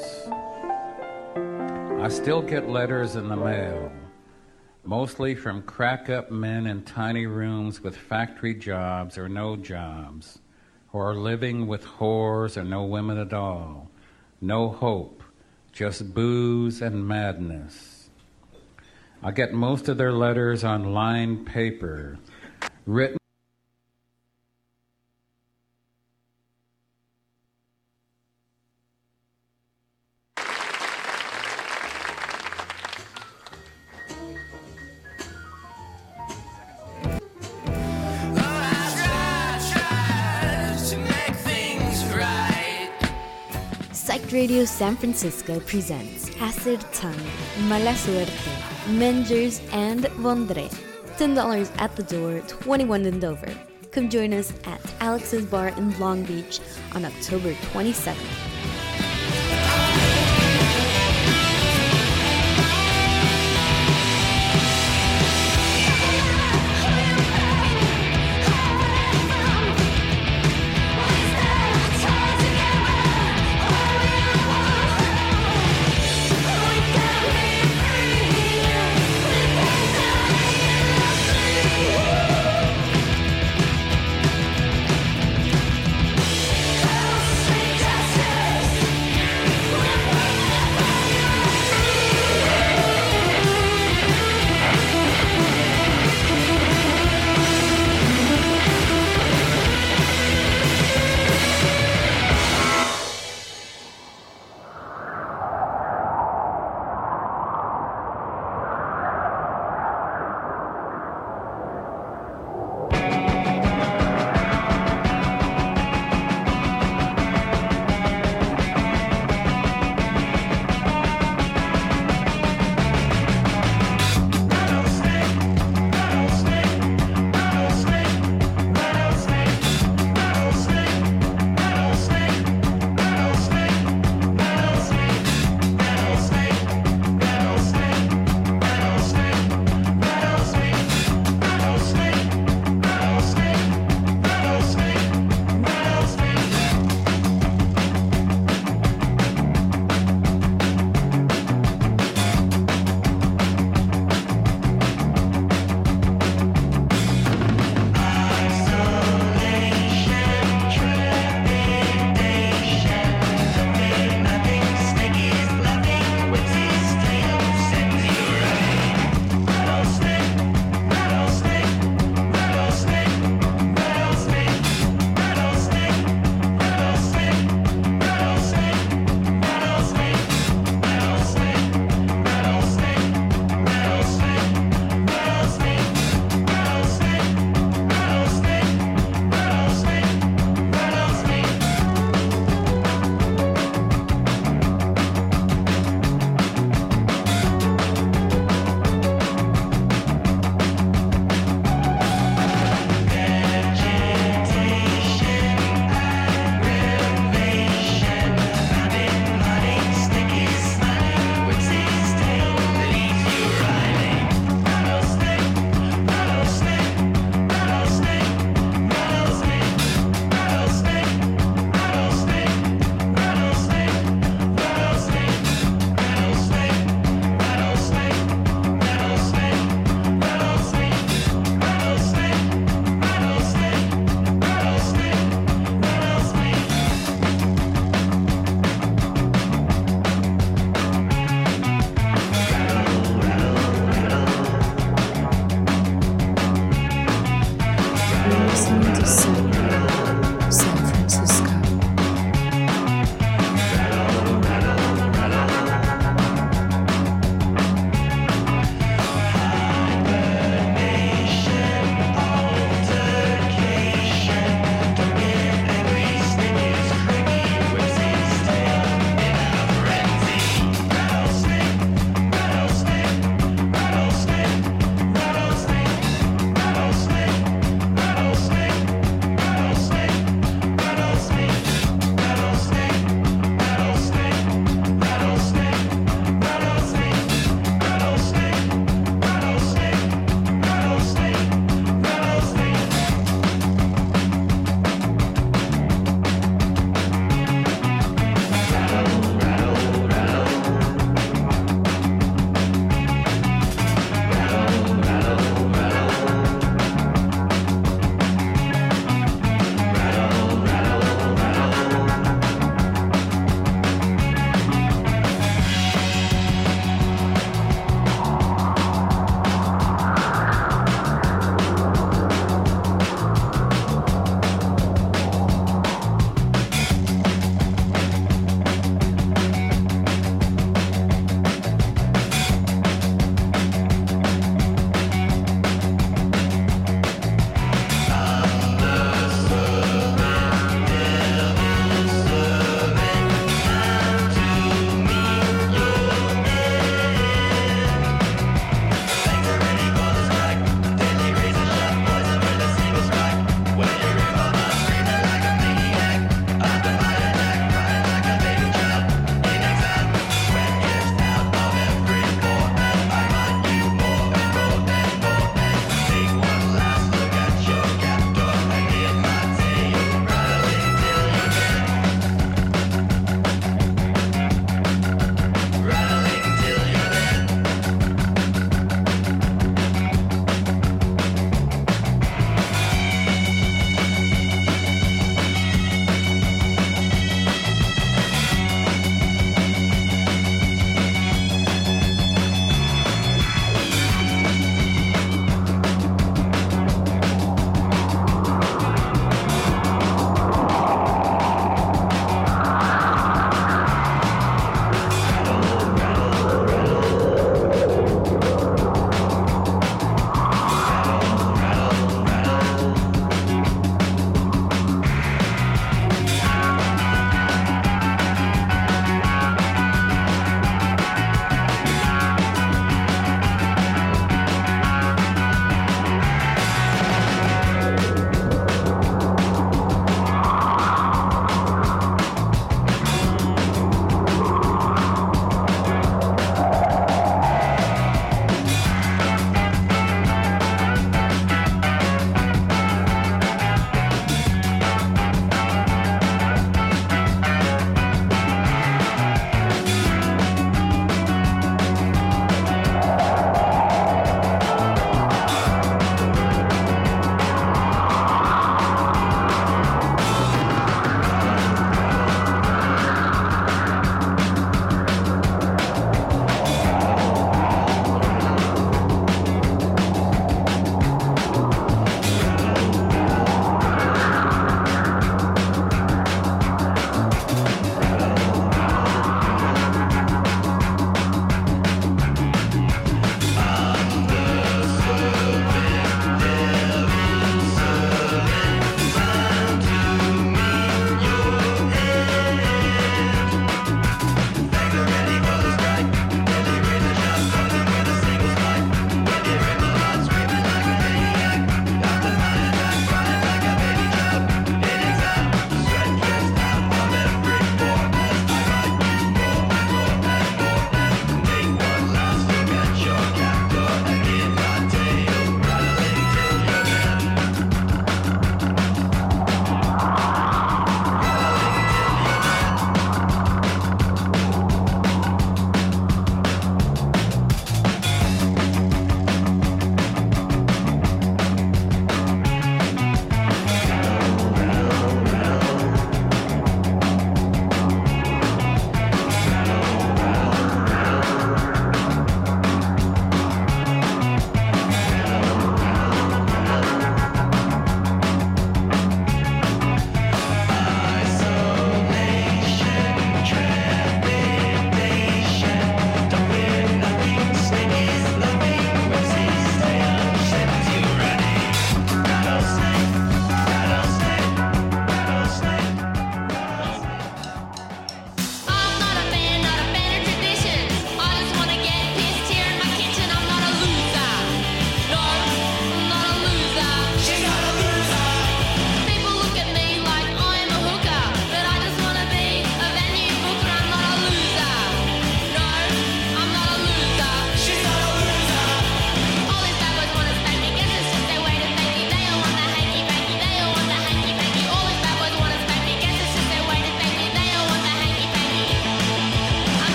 I still get letters in the mail, mostly from crack-up men in tiny rooms with factory jobs or no jobs, who are living with whores or no women at all. No hope, just booze and madness. I get most of their letters on lined paper, written Psych Radio San Francisco presents Acid Tongue, Mala Suerte, Mengers, and Vondre. $10 at the door, 21 and over. Come join us at Alex's Bar in Long Beach on October 27th. Just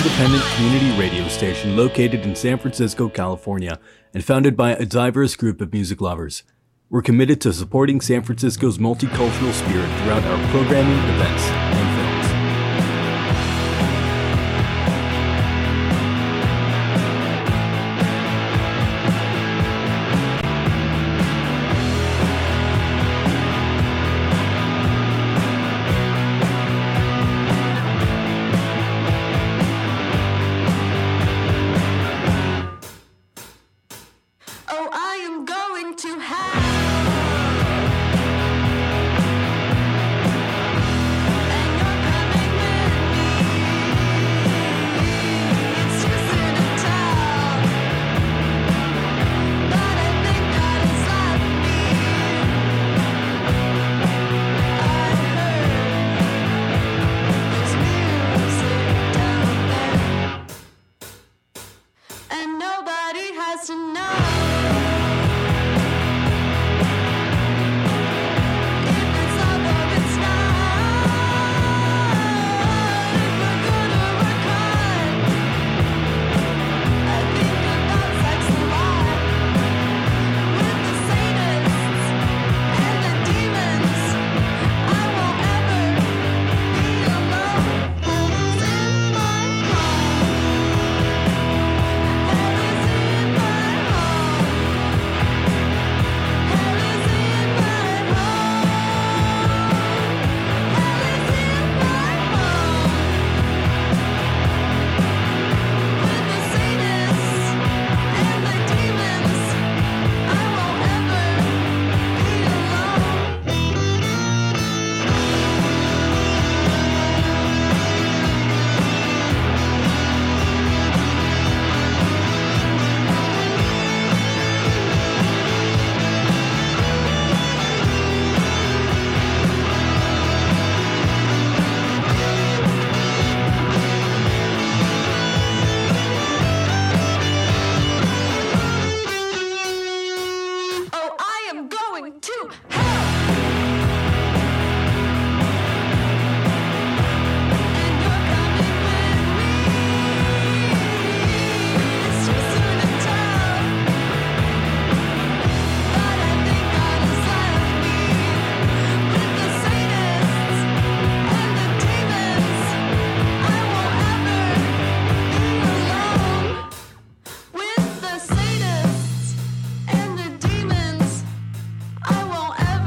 independent community radio station located in San Francisco, California, and founded by a diverse group of music lovers. We're committed to supporting San Francisco's multicultural spirit throughout our programming, events, and films. Oh, I am going to have. And nobody has to know. If it's love or it's not, if we're good or we're kind. I think about sex a lot. With the sadists and the demons, I won't ever be alone. Heaven's in my home. Heaven's in my home. Heaven's in my home. Heaven's in my home. With the sadists and the demons, I won't ever be Oh, I am going to hell. And you're coming with me. It's too soon to tell. But I think God has left me with the sadists and the demons. I won't ever be alone. With the sadists and the demons, I won't ever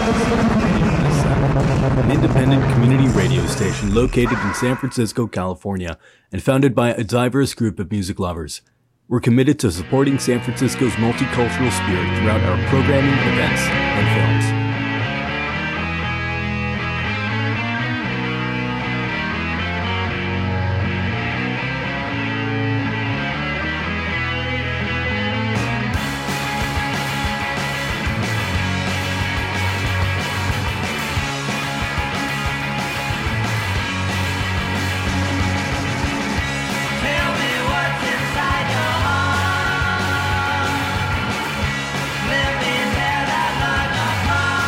an independent community radio station located in San Francisco, California, and founded by a diverse group of music lovers. We're committed to supporting San Francisco's multicultural spirit throughout our programming, events, and films. Tell me what's inside your heart. Let me tear that love apart.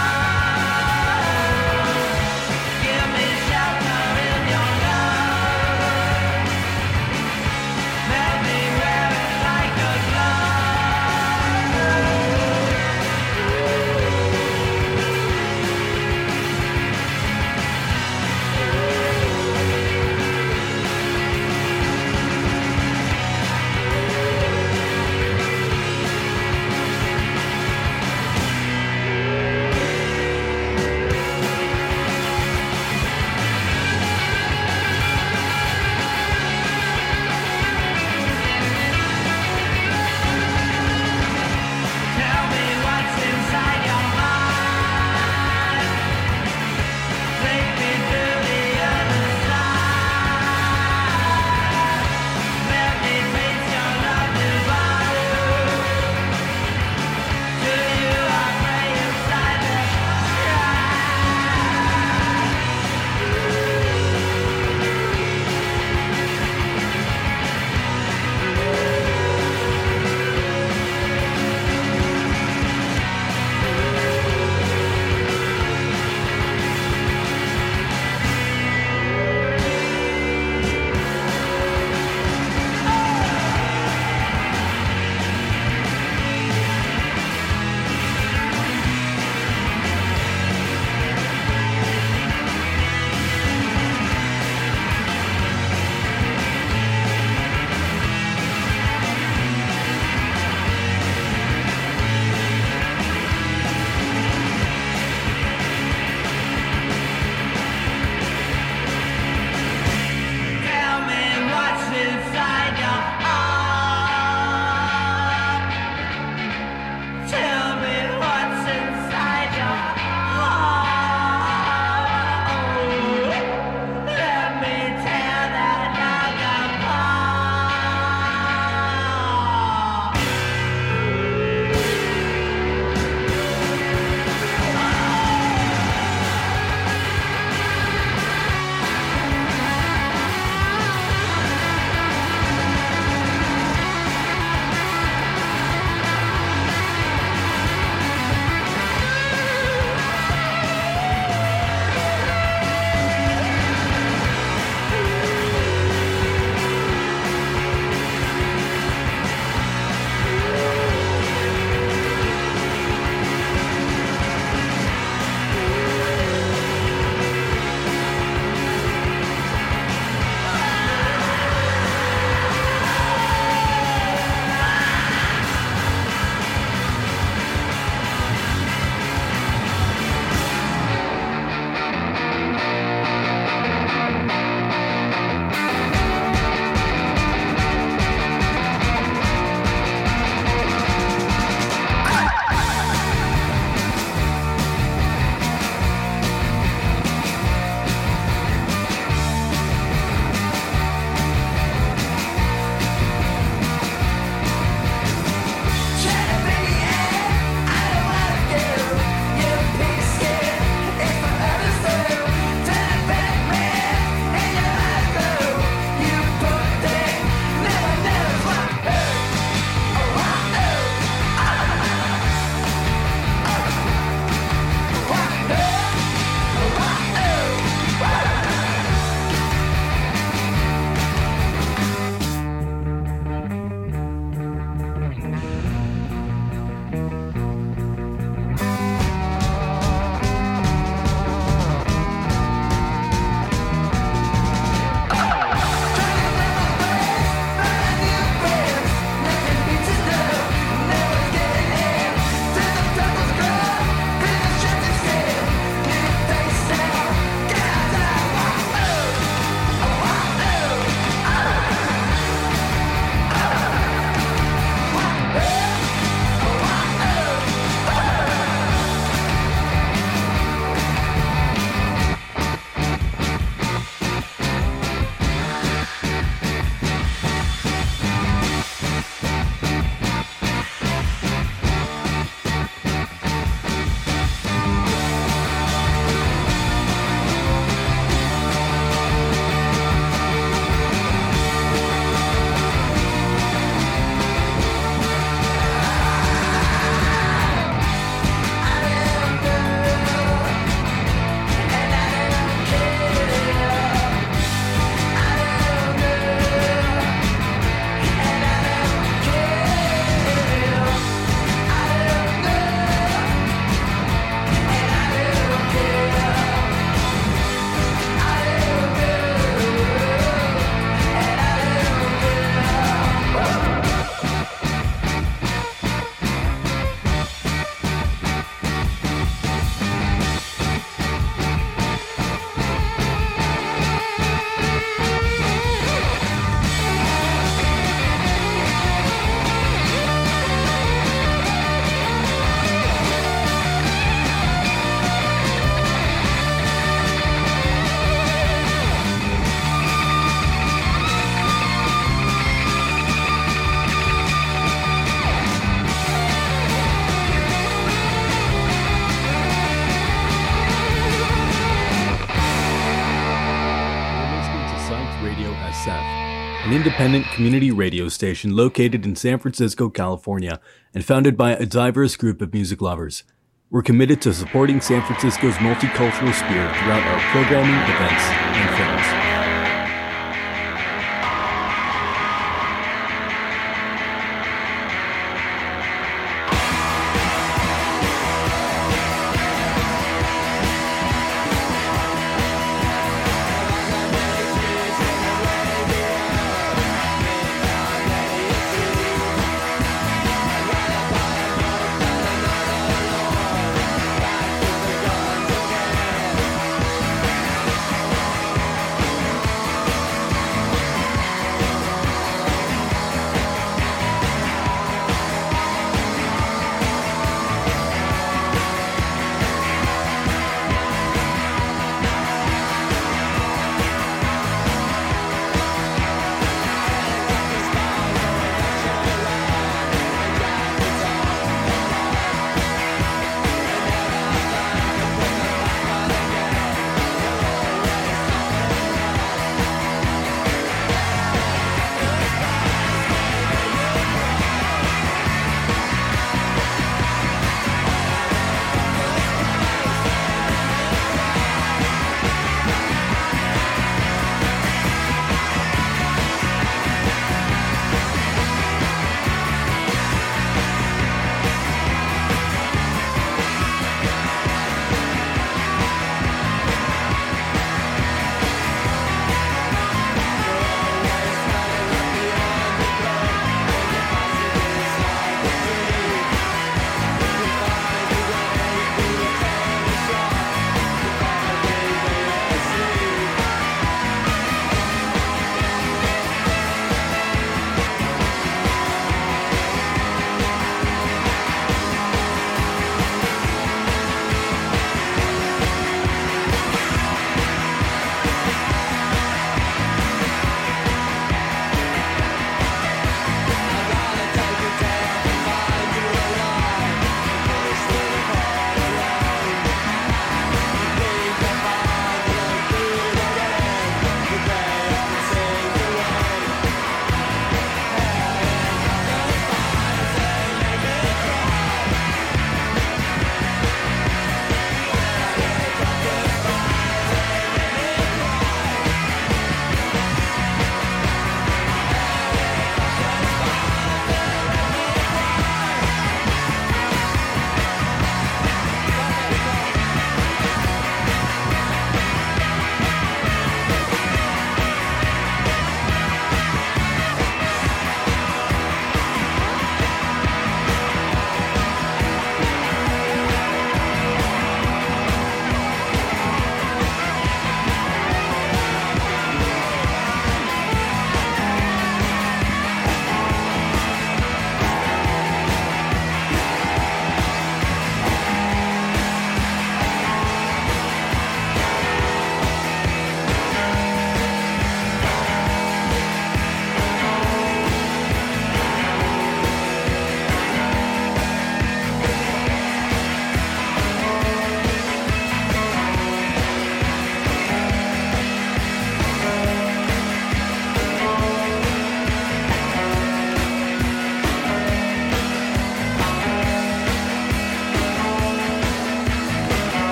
an independent community radio station located in San Francisco, California, and founded by a diverse group of music lovers. We're committed to supporting San Francisco's multicultural spirit throughout our programming, events, and films.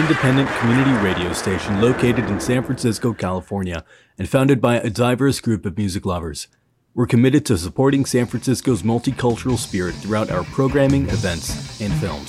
independent community radio station located in San Francisco, California, and founded by a diverse group of music lovers. We're committed to supporting San Francisco's multicultural spirit throughout our programming, events, and films.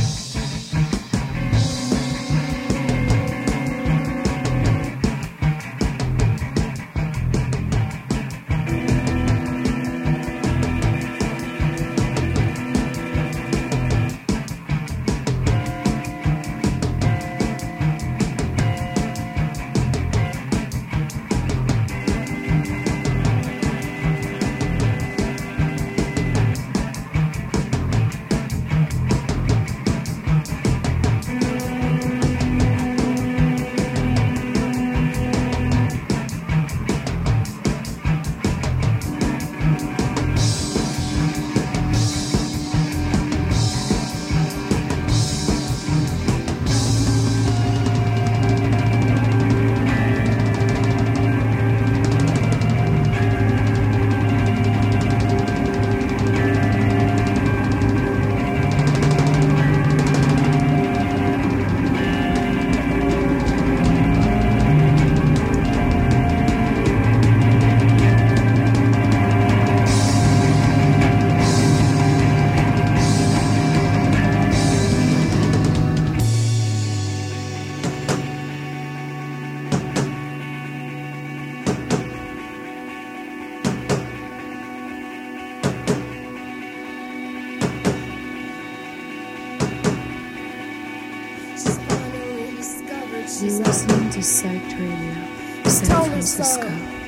You're listening to Psyched Radio, San Francisco.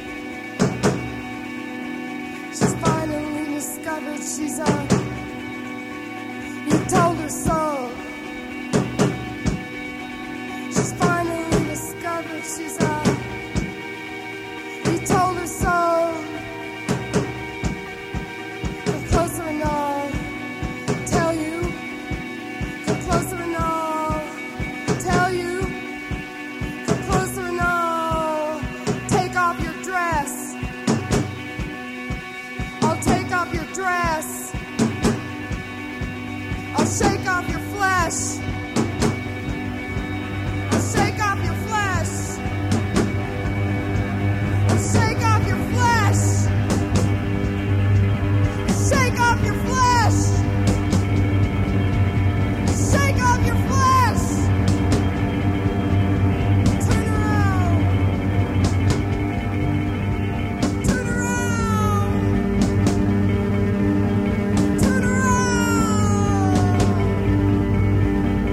She's finally discovered she's you told her so. She's finally discovered she's you told her so. Come closer and I'll tell you. Come closer and I'll tell you. Dress. I'll shake off your flesh. I'll shake off your flesh. I'll shake off your flesh. Shake off your flesh. Shake off your flesh. Turn around. Turn around. Turn around.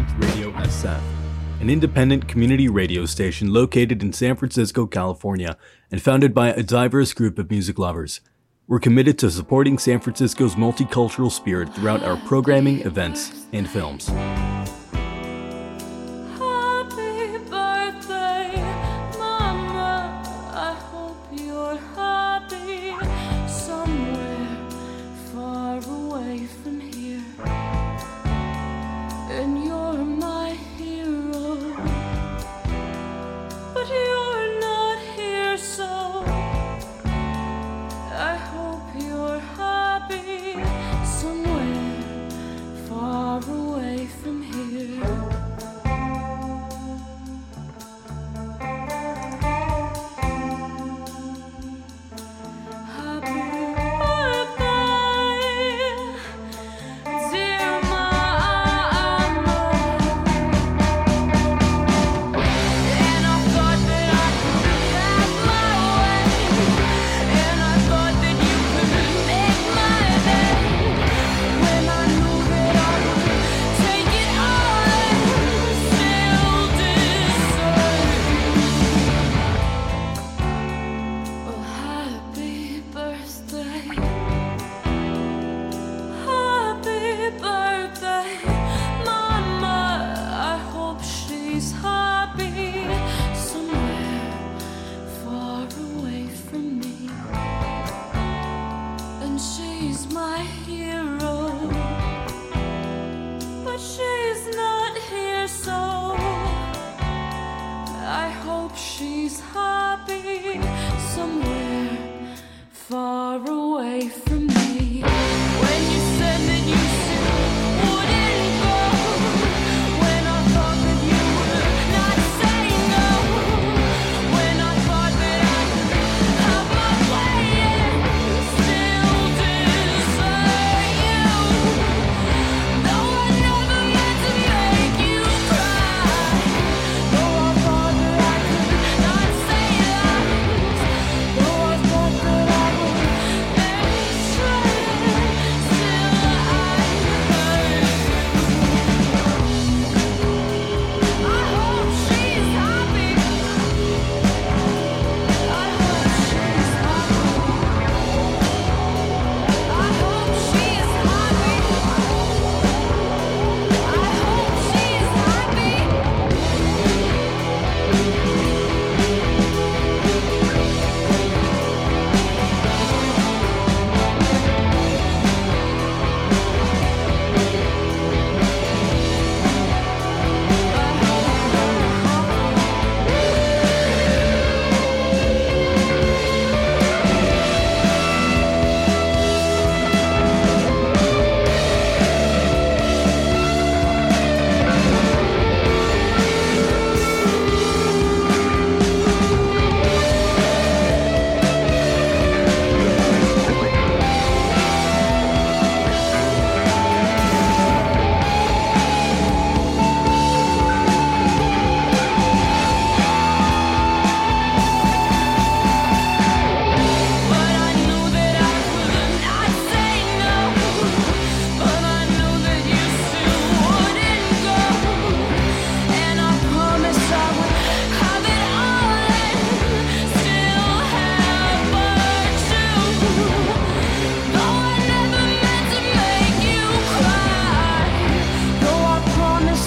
Radio SF, an independent community radio station located in San Francisco, California, and founded by a diverse group of music lovers. We're committed to supporting San Francisco's multicultural spirit throughout our programming, events, and films. Happy birthday, Mama. I hope you're happy somewhere far away from here. And you're my hero, but you're not here, so I hope you're happy somewhere far away from here. Happy birthday, dear Mama. And I thought that I could have my way, and I thought that you could make my day. When I knew that I would take it all and still deserve. Oh, happy birthday. Happy birthday, Mama. I hope she's happy somewhere far away from me. And she's my hero, but she's not here, so I hope she's happy somewhere far away from